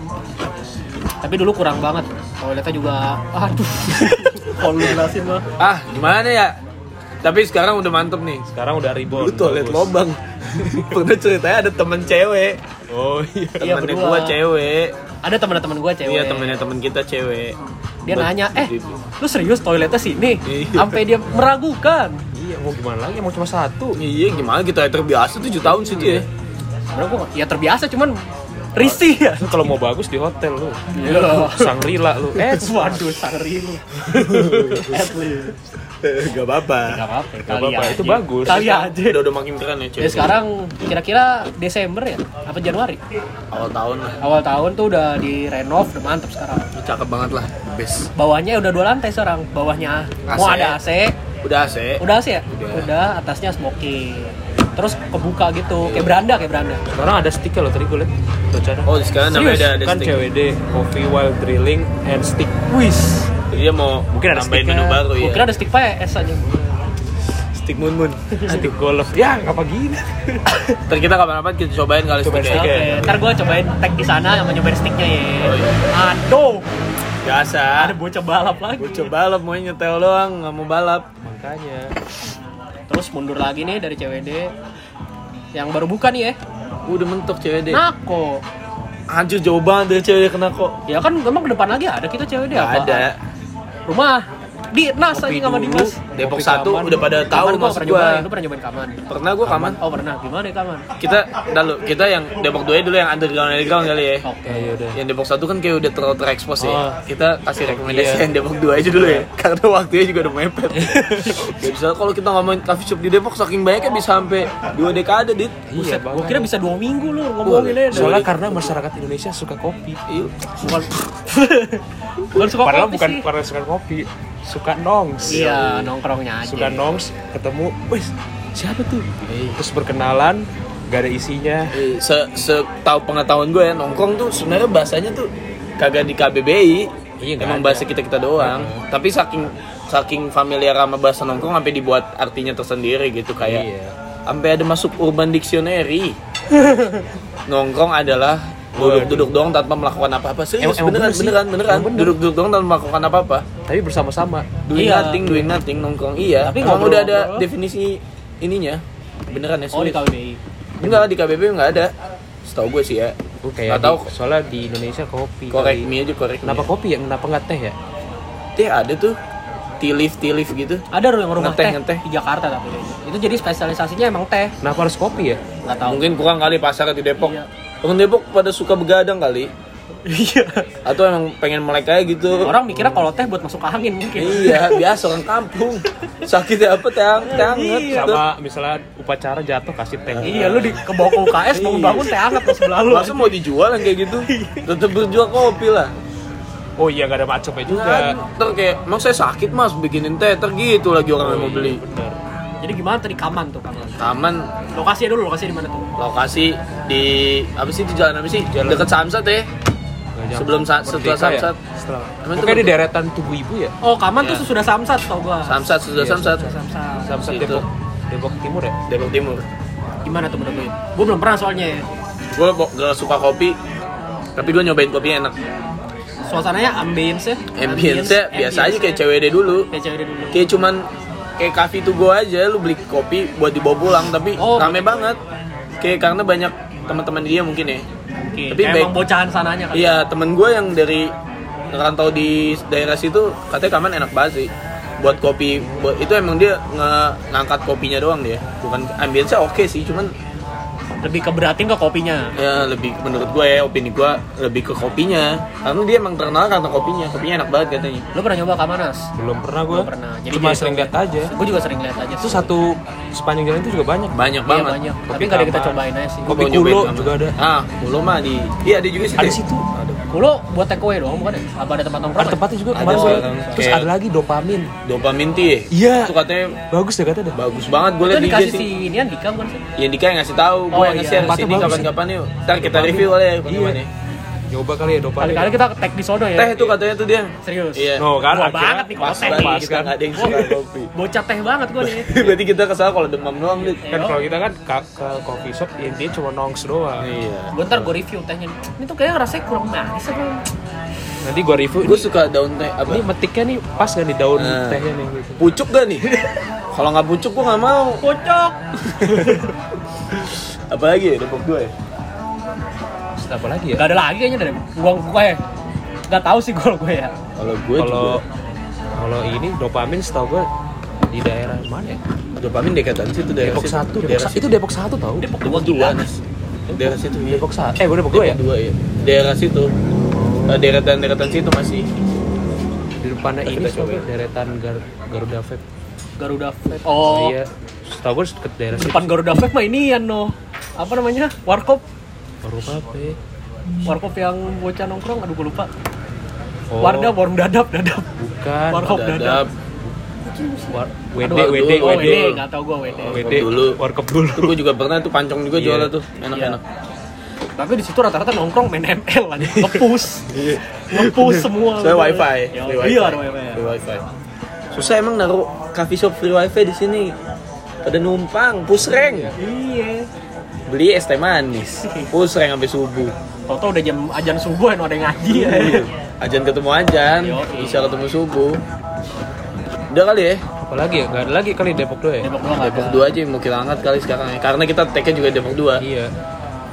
Tapi dulu kurang banget. Toiletnya juga aduh. Kalau lu jelasin mah. Ah, gimana ya? Tapi sekarang udah mantep nih. Sekarang udah ribon. Dulu toilet bagus. lobang. Pernah ceritanya ada temen cewek. Oh iya. Iya, Temennya berdua. gua cewek. Ada teman-teman gue cewek. Iya, temennya temen kita cewek. Dia Buat- nanya, "Eh, di- lu serius toiletnya sini?" Iya. Sampai dia meragukan. Iya, mau gimana lagi? Mau cuma satu. Iya, gimana kita terbiasa tujuh tahun situ ya. Sebenarnya gue ya terbiasa cuman risih ya. Lu kalau mau bagus di hotel lu. Iya. Sangrila lu. Eh, Waduh, sangri lu. At least. Gak apa-apa. Gak apa-apa, Gak kali apa-apa, aja. itu bagus. Kali aja. Udah udah makin keren ya cewek. Ya sekarang kira-kira Desember ya? Apa Januari? Awal tahun lah. Awal tahun tuh udah direnov, udah mantep sekarang. Cakep banget lah. Best. Bawahnya udah dua lantai sekarang. Bawahnya A C. mau ada A C. Udah A C. Udah A C ya? Udah. Udah, atasnya smoking. Terus kebuka gitu, kayak beranda, kayak beranda. sekarang ada sticknya loh tadi gue liat. Bacanya. Oh, sekarang namanya Serius? ada ada Kan stick. C W D, Coffee While Drilling and Stick. Wis. Dia mau Mungkin ada nambahin sticknya. menu baru ya. Gue kira ada stick P S aja. stick moon moon. Stick golf. Ya, ngapa gini? Ntar kita kapan-kapan kita cobain kali Cobain sticknya. Oke, stick ya. ntar gue cobain tag di sana sama nyobain sticknya ya. Oh, iya. Aduh, Biasa. ada bocah balap lagi. Gue coba balap, mau nyetel doang, nggak mau balap. Makanya. Terus mundur lagi nih dari C W D yang baru buka nih ya. Udah mentok cewek deh. Nako. Anjir jauh banget dari cewek kena kok. Ya kan memang ke depan lagi ada kita cewek dia Nggak apa? ada. Rumah di Nas aja sama Dimas. Depok Kopi satu Kaman. udah pada tahu Kaman gua maksud pernah gua. nyobain, lu pernah nyobain Kaman? Pernah gua Kaman. Oh pernah, gimana ya Kaman? Kita dulu kita yang Depok dua dulu yang underground underground kali ya. Oke. Ya udah. Yang Depok satu kan kayak udah terlalu terekspos ya. Oh. Kita kasih rekomendasi Iya. yang Depok dua aja dulu ya. Karena waktunya juga udah mepet. Ya bisa kalau kita ngomongin coffee shop di Depok saking banyaknya bisa sampai dua dekade, Dit. Iya, Buset, gua banget. kira bisa dua minggu lu ngomongin aja. Soalnya karena masyarakat Indonesia suka kopi. Iya. bukan bukan suka Padahal kopi bukan sih. karena suka kopi, suka nongs. Iya, nongkrongnya aja. Suka nongs, ketemu, wes siapa tuh? Terus berkenalan, gak ada isinya. Eh, Se setahu pengetahuan gue ya nongkrong tuh sebenarnya bahasanya tuh kagak di K B B I. Iya, nggak Emang ada. bahasa kita kita doang. Tapi saking saking familiar sama bahasa nongkrong sampai dibuat artinya tersendiri gitu kayak. Iya. Sampai ada masuk Urban Dictionary. Nongkrong adalah duduk-duduk doang tanpa melakukan apa-apa. Serius, Emang- emang beneran, bener sih. beneran, beneran. Emang bener. Duduk-duduk doang tanpa melakukan apa-apa. Tapi bersama-sama. Doing Iya. nothing, doing nothing, nongkrong. Iya. Tapi Emang ngobrol- udah ada ngobrol. definisi ininya. Beneran ya, Oh di serius. K B B I. Enggak, di K B B I enggak ada. Setahu gue sih ya. Oh, kayak Nggak tahu. di- soalnya di Indonesia kopi. Korek kali. mie aja, korek Kenapa mie. kopi ya? Kenapa nggak teh ya? Teh ada tuh. Tea leaf, tea leaf gitu. Ada yang rumah Ngeteh, teh, ngeteh. di Jakarta tapi itu jadi spesialisasinya emang teh. Kenapa harus kopi ya? Nggak tahu. Mungkin kurang kali pasar di Depok. Iya. Orang Depok pada suka begadang kali. Iya. Atau emang pengen melek aja gitu. Orang mikirnya kalau teh buat masuk angin mungkin. Iya, biasa orang kampung. Sakit apa teh hang- teh hangat. Iya. Sama misalnya upacara jatuh kasih teh. Iya, lu di ke bawah ke U K S bangun-bangun teh hangat pas sebelah lu. Masa mau dijual yang kayak gitu? Tetep berjual kopi lah. Oh iya, nggak ada macamnya juga. Nggak, ntar kayak, emang saya sakit mas bikinin teh, ntar gitu lagi orang yang mau beli. Bener. Jadi gimana tadi Kaman tuh Kaman? Taman Lokasinya dulu, lokasi di mana tuh? lokasi di apa sih di jalan apa sih? Jalan- Dekat Samsat ya. Nggak jauh. Sebelum sa- setelah Merdeka ya? Samsat. Setelah. Emang itu Pokoknya di betul. deretan Tugu Ibu ya? Oh, Kaman Iya. tuh sudah Samsat tau gua. Samsat sudah Iya, Samsat. Sudah Samsat. Samsat Itu. Depok. Depok Timur ya? Depok Timur. Gimana tuh menurut? Gua belum pernah soalnya. Gue gak suka kopi, tapi gue nyobain kopinya enak. Suasananya ambience-nya. Ambience-nya biasa aja kayak C W D dulu. Kayak cewek dulu. Kayak cuman kayak cafe to go aja, lu beli kopi buat dibawa pulang, tapi Oh. rame banget. Kayak karena banyak teman-teman dia mungkin ya. Oke, Tapi kayak baik- emang bocahan sananya kan. Iya, temen gue yang dari rantau di daerah situ katanya Kaman enak banget sih. Buat kopi, buat itu emang dia nge- ngangkat kopinya doang dia. Bukan ambience-nya oke sih, cuman Lebih keberatin ke kopinya. ya lebih menurut gue ya opini gue lebih ke kopinya. Karena dia emang terkenal karena kopinya. Kopinya enak banget katanya. Lu pernah nyoba Kamanas? Belum pernah gue. Belum pernah. Jadi Cuma dia sering itu- lihat aja. Gue juga sering lihat aja. Itu satu sepanjang jalan itu juga banyak. Banyak Iya, banget. banyak. Tapi Kopi nggak ada kita Kaman. cobain aja sih. Gua Kopi mau nyobain Kulo Kaman. juga ada. Ah, Kulo mah di iya ada juga sih. Ada deh. situ. Ada. Kulo buat take away doang bukan ya? Apa ada tempat nongkrong? Ada tempatnya juga Ada kemarin sih, gue. orang Terus kayak- ada lagi dopamin. Dopamin tea. Iya. Itu katanya Bagus deh katanya. bagus banget. Gue Itu liat di I G dikasih sih. si Inian Dika bukan sih? Ya Dika yang ngasih tahu, gue Oh, yang iya. nge-share Tempatnya sini bagus kapan-kapan yuk. Ntar kita Dopamin. review oleh Iya. bagaimana. Nyoba kali ya dopamin. Kali-kali kita tag di sono ya. Teh itu katanya tuh dia. Serius. Iya. No, kan Wah, akhirnya banget nih kalau Pas teh banget nih. kita nggak ada yang suka kopi. Bocah teh banget gue nih. Berarti kita kesal kalau demam doang, Dit. Kan kalau kita kan ke, ke coffee shop intinya cuma nongs doang. Iya. Gue ntar gue review tehnya. Ini tuh kayaknya rasanya kurang manis apa? Nanti gua review. Gue Ini, suka daun teh apa? ini metiknya nih pas gak nih daun Nah. tehnya nih gitu. Pucuk gak nih? Kalau nggak pucuk gue nggak mau. Kocok. Apalagi ya Depok dua ya? Terus apa lagi ya? Gak ada lagi kayaknya dari gua gue ya. Gak tahu sih kalau gue ya. Kalau gue Kalau juga kalau ini dopamin setahu gua di daerah mana ya? dopamin dekatan situ daerah Depok situ. satu, Depok Daerah satu. situ. Itu Depok satu tau? Depok Depok dua nih. Daerah situ. iya. Depok satu. Eh, gua Depok dua ya? Depok dua ya. Daerah situ. Eh, Deretan-deretan situ masih. Di depannya Kita ini coba. coba deretan Gar Garuda Vape. Garuda Vape. Oh. Iya. Setahu gua deket daerah situ. Depan Garuda Vape mah ini ya no. Apa namanya? Warkop. Garuda Vape. Warkop yang bocah nongkrong, aduh gue lupa. Oh, Wardah, warung dadap, dadap. bukan. Warkop Dadap. dadap. War, W D, Aduh, W D, aduh, Oh, W D. ini nggak tahu gue W D. W D dulu. Warkop dulu. Itu gue juga pernah tuh pancong juga Iya. jualnya tuh. Enak-enak. Tapi di situ rata-rata nongkrong main M L aja, ngepus, ngepus semua. Saya wifi. Ya, Free iya ada wifi. ya. Free wifi. Susah emang naruh coffee shop free wifi di sini. Pada numpang, pusreng. Iya. Beli es teh manis. Pusreng sampai subuh. Tau-tau udah jam ajan subuh ada yang ngaji ya. Ajan ketemu ajan, Yoi. bisa ketemu subuh. Udah kali ya. Apalagi ya? Gak ada lagi kali Depok dua ya? Depok doang nggak Depok ada. dua aja yang mau kita angkat kali sekarang ya. Karena kita tag-nya juga Depok dua. Iya.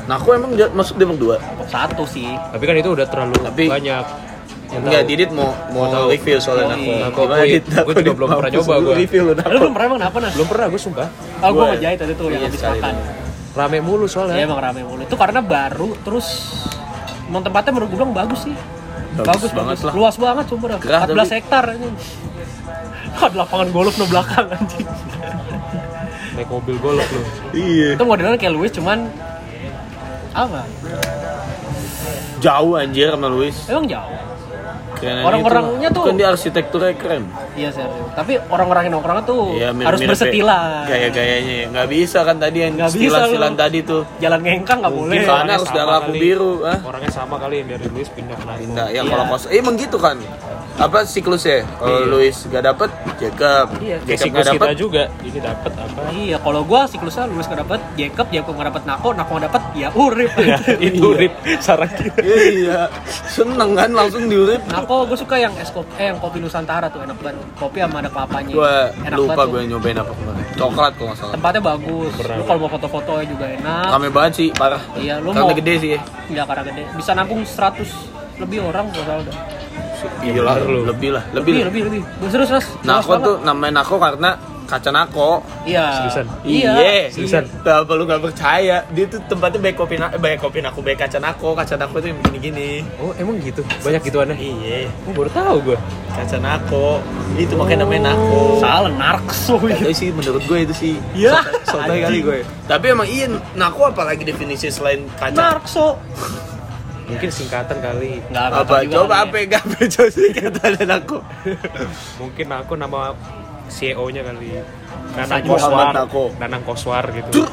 Nah, aku emang dia, masuk Depok dua. Depok satu sih. Tapi kan itu udah terlalu Tapi- banyak. Yang Enggak, tahu. Didit mau mau tahu. review soalnya Oh, aku. iya. Nako, Gimana, gue- Dit? gue Aku juga di belum pernah mampus nyoba dulu gua. review lu. Lu belum pernah emang apa Nas? Belum pernah gue sumpah. Oh, gue Gua- ngejahit tadi tuh yang Iya, habis sekali makan. dulu. Rame mulu soalnya. Ya emang rame mulu. Itu karena baru, terus emang tempatnya menurut gue bilang bagus sih. Bagus banget lah. Luas banget cuma dah. Gerah empat belas tapi. hektar anjing. Ada lapangan golf no belakang anjing. Naik mobil golf lu. Iya. Itu modelnya kayak Luis cuman apa? Jauh anjir sama Luis. Emang jauh. Keren Orang-orangnya itu, tuh- kan dia arsitekturnya keren. Iya serius. Tapi orang-orang yang nongkrongnya tuh Iya, mirip-mirip harus bersetilan. Gaya-gayanya ya. Nggak bisa kan tadi yang Nggak bisa stilan-stilan lu. tadi tuh. Jalan ngengkang nggak boleh. Mungkin soalnya harus Sama darah lampu kali. biru, ah. Orangnya sama kali yang dari Luis pindah ke Nako. Pindah ya Iya. kalau kos. Eh, emang gitu kan. Apa siklusnya? Kalau Iya. Luis gak dapet, Jacob. Iya, Kayak Jacob siklus gak kita dapet. juga. Ini dapat apa? Iya, kalau gua siklusnya Luis nggak dapet, Jacob, Jacob nggak dapet Nako, Nako nggak dapet, ya Urip. Itu rip sarang kita. Iya, seneng kan langsung diurip. Nako gue suka yang es kopi, eh yang kopi Nusantara tuh enak banget. Kopi sama ada kelapanya. Gua Enak lupa banget gue tuh. nyobain apa kemarin. Coklat kalau nggak salah. Tempatnya bagus. Berat. Lu kalau mau foto-fotonya juga enak. Rame banget sih, parah. Iya, lu Karena mau- gede sih ya. Iya karena gede. Bisa nampung seratus lebih orang kalau salah udah. Iya lah, bener lu. lebih lah, Lebih, lebih. lebih, lebih. Serius, Mas. Nako tuh namanya Nako karena kaca Nako. Iya. Seriusan? Iya. Seriusan. Kenapa lu gak percaya? Dia tuh tempatnya baik kopi na- baik kopi Nako, baik kaca Nako. Kaca Nako tuh yang gini-gini. Oh, emang gitu. Banyak gituannya. Iya, Oh, baru tahu gue. kaca Nako. Itu makanya namanya Nako. Salah, narkso Gak gitu. tahu sih, menurut gue itu sih. Iya. Soalnya kali gue. Tapi emang iya, Nako apalagi definisi selain kaca? Narkso. Mungkin singkatan kali. Enggak Apa? Coba apa? Gak betul sih kata Nako. Mungkin aku nama C E O-nya kali. Bisa Nanang juga. Koswar. Muhammad Nako. Nanang Koswar gitu.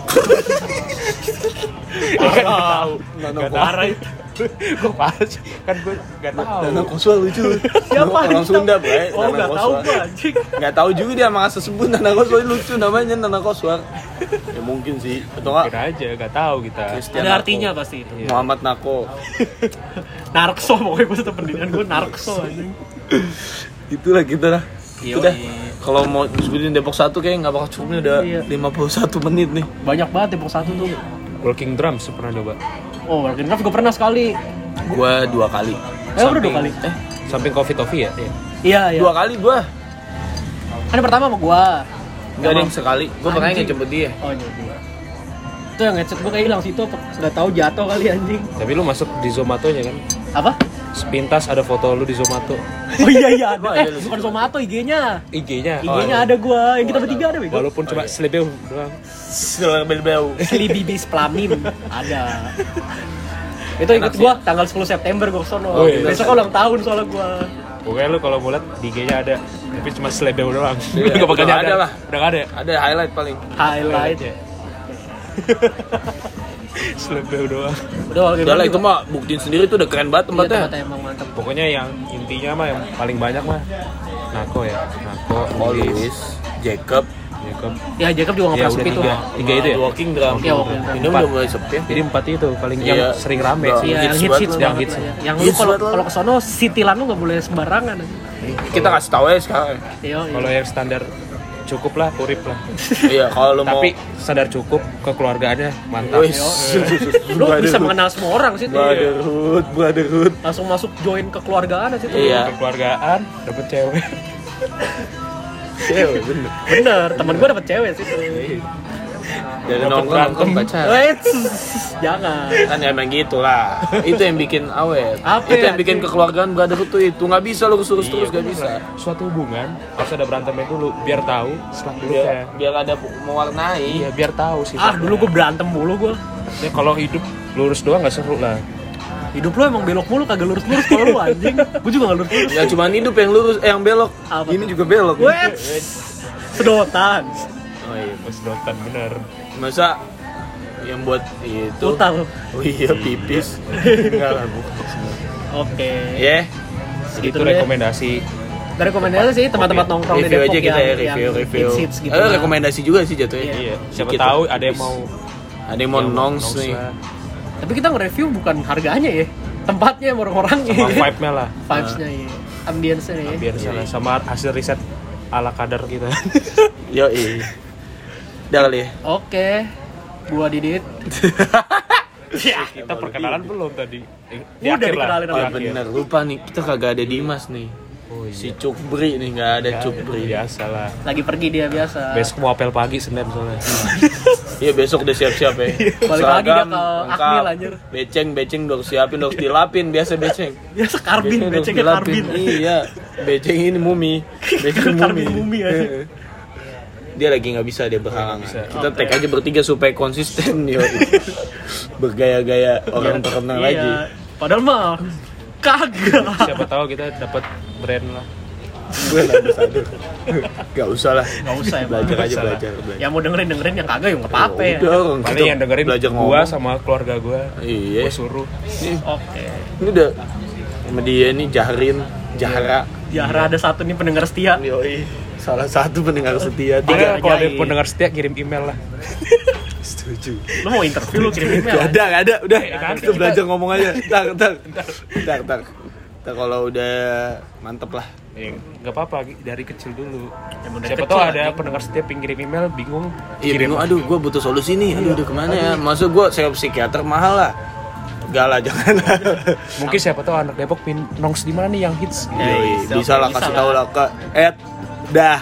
Ya kan nggak tahu. Nanang Nggak Koswar. tahu itu. Gue pas kan gue nggak tahu. Nanang Koswar lucu. Siapa? Orang Sunda, Bray. Oh, Nanang enggak tahu Koswar. gua anjing. Nggak tahu juga dia sama sebut Nanang Koswar lucu namanya Nanang Koswar. Ya mungkin sih. Atau enggak? Kira aja nggak tahu kita. Christian Ada Nako. artinya pasti itu. Muhammad Nako. Narkso pokoknya gue tetap pendidikan gue narkso anjing. Itulah kita lah. Iya, Udah. iya. Kalau mau sebutin Depok satu kayak nggak bakal cukup nih, udah Iya. lima puluh satu menit nih. Banyak banget Depok satu tuh. Walking Drums pernah coba. Oh, Working Craft gue pernah sekali. Gua dua kali. Eh, udah dua kali. Eh, Samping Coffee Toffee ya? Iya. Iya, iya. dua kali gua. Kan yang pertama sama gua. Enggak ada yang sekali. Gua pernah Anjing. ngejemput dia. Oh, jadi. Itu yang headset gua kayak hilang situ apa? Sudah tahu jatuh kali anjing. Tapi lu masuk di Zomatonya kan? Apa? Sepintas ada foto lu di Zomato. Oh iya iya ada. Oh, Eh, iya, bukan Zomato I G-nya. I G-nya. I G-nya ada gua. Yang kita bertiga ada bego. Walaupun cuma selebeu doang. Setelah bel-bel. Slibibis Plamin ada. Itu ikut gua tanggal sepuluh September gua kesono. Oh, iya. Besok ulang tahun soalnya gua. Pokoknya lu kalau mau lihat di I G-nya ada, tapi cuma selebeu doang. Iya, Nggak bakal udah ada. ada lah. Udah nggak ada. ya? Ada highlight paling. Highlight. ya. Selebeu doang. Udah Walking Udah lah Craft itu juga. mah buktiin sendiri tuh udah keren banget Iya, tempatnya. tempatnya emang mantap. Pokoknya yang intinya mah yang paling banyak mah Nako ya. Nako, Oh, Luis, Luis, Jacob, Jacob. Ya Jacob juga nggak Ya pernah udah sepi tuh. tiga. Tiga itu ya? Walking Drum. Iya, Walking Drum. Ini udah mulai sepi ya. Jadi empat itu paling yang Iya. sering rame Udah. sih. Iya, yang Hits hits banget hits lah. banget Hits. lah ya. Yang lu Hits kalau banget lah. kalau kesono sitilan lu nggak boleh sembarangan. Kita kasih tahu ya sekarang. Iya, iya. Kalau yang standar cukup lah, urip lah. Iya, kalau lu mau Tapi standar cukup kekeluargaannya mantap. Wih, Lu bisa mengenal semua orang sih tuh. brotherhood, brotherhood. Langsung masuk join kekeluargaan sih tuh. Iya. Kekeluargaan, dapet cewek. Cewek bener. Bener, temen gue dapet cewek sih tuh. Dari Dapet nongkrong berantem. nongkrong pacar. Wait, jangan. Kan emang gitu lah. Itu yang bikin awet. Apa Itu ya, yang bikin anjing? kekeluargaan brotherhood tuh itu nggak bisa lu terus terus Iya, gak bisa. Suatu hubungan harus ada berantemnya dulu biar tahu setelah dulu Biar, ya. biar ada mewarnai. Iya, biar tahu sih. Ah, dulu gue berantem mulu gue. Ya, kalau hidup lurus doang nggak seru lah. Hidup lu emang belok mulu, kagak lurus-lurus kalau lu anjing. Gue juga gak lurus-lurus. Ya cuma hidup yang lurus, eh yang belok. Apa Ini tuh? juga belok. Wait, sedotan. Oh iya. Pas dotan bener. Masa yang buat itu? Putar. Oh iya, pipis. Enggak lah, bukan. Oke. Ya, Segitu Itu dulu ya. rekomendasi. Dari rekomendasi sih tempat-tempat nongkrong di review Depok aja kita ya, yang, review, yang review. hits-hits gitu. Eh, lah. rekomendasi juga sih jatuhnya. Iya. Siapa Dikit tahu lah, ada yang tipis. mau Ada yang mau yang nongs nongs nih. lah. Tapi kita nge-review bukan harganya ya. Tempatnya sama orang-orangnya. Sama vibe-nya lah. Vibes-nya ya. Ambience-nya ya. Biar salah sama hasil riset ala kadar kita. Yo, iya. Udah kali ya. Oke. Gua Didit. Ya, Kita perkenalan belum tadi. Eh, di Udah akhir lah. dikenalin Oh sama Di akhir. bener, lupa nih, kita kagak ada Dimas nih. Oh, iya. Si Cukbri nih, nggak ada Cukbri. Biasa lah. lagi pergi dia biasa. Besok mau apel pagi Senin soalnya. Iya besok udah siap-siap ya. Balik lagi dia Seragam, ke lengkap. Akmil, anjir. Beceng, beceng udah siapin, udah dilapin, biasa beceng. Biasa karbin, Beceng udah becengnya dilapin. karbin. Iya, beceng ini mumi. Beceng Karbin mumi. mumi, anjir. Dia lagi nggak bisa, dia berhalangan. bisa. Kita tag aja bertiga supaya konsisten yo. Bergaya-gaya orang terkenal Iya. lagi. Padahal mah kagak. Siapa tahu kita dapat brand lah. Gue ambassador. Gak usah lah. Nggak usah ya, Belajar Bang. aja, Usah lah. belajar. belajar. Yang mau dengerin dengerin yang kagak ya nggak apa-apa ya. Udah, orang Paling kita yang dengerin belajar gua ngomong. sama keluarga gua. Iya. Gua suruh. Oke. Ini udah sama dia nih Jahrin, Jahra. Jahra ada satu nih pendengar setia. Yoi. Salah satu pendengar setia. Tiga, Tiga. kalau ada ajaib. pendengar setia kirim email lah. Setuju. Lu mau interview lu kirim email. Gak ada, gak ada. Udah, nanti kita kita- belajar ngomong aja. Ntar, ntar. Ntar, ntar. Ntar kalau udah mantep lah. Ya, nggak apa-apa dari kecil dulu. Emang dari Siapa kecil, tahu ada anjing. pendengar setia pengen email bingung. Iya, bingung. Aduh, gue butuh solusi nih. Aduh, udah kemana ya? Maksud gue sewa psikiater mahal lah. Gak lah, jangan. Mungkin siapa tahu anak Depok pin nongs di mana nih yang hits. Ya, Yoi, bisa, bisa lah bisa kasih lah. tahu lah ke at dah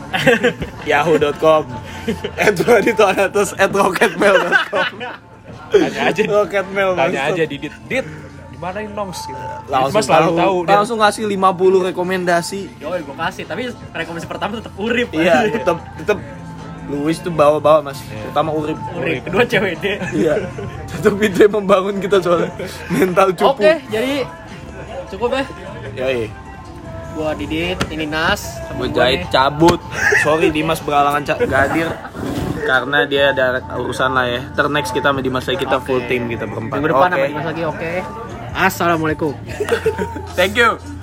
yahoo dot com at raditoanatus at rocketmail dot com Tanya aja. rocketmail Tanya maksud. aja Didit. Dit, di mana ini nongs gitu. langsung Mas selalu tahu, tahu dia. langsung ngasih lima puluh rekomendasi. Yoi, gue kasih. Tapi rekomendasi pertama tetap Urip. Iya, tetap tetap Luis tuh bawa-bawa mas, terutama Urip. Urip. Kedua C W D. Iya, tetap itu yang membangun kita soalnya mental cupu. Oke, jadi cukup ya. Yoi, Gua Didit, ini Nas. gue temen gua jahit nih. cabut. Sorry Dimas beralangan ca- gak hadir karena dia ada urusan lah ya. Ter next kita sama Dimas lagi, kita full Oke. team kita berempat. Minggu depan Oke. sama Dimas lagi, oke. Assalamualaikum. Thank you.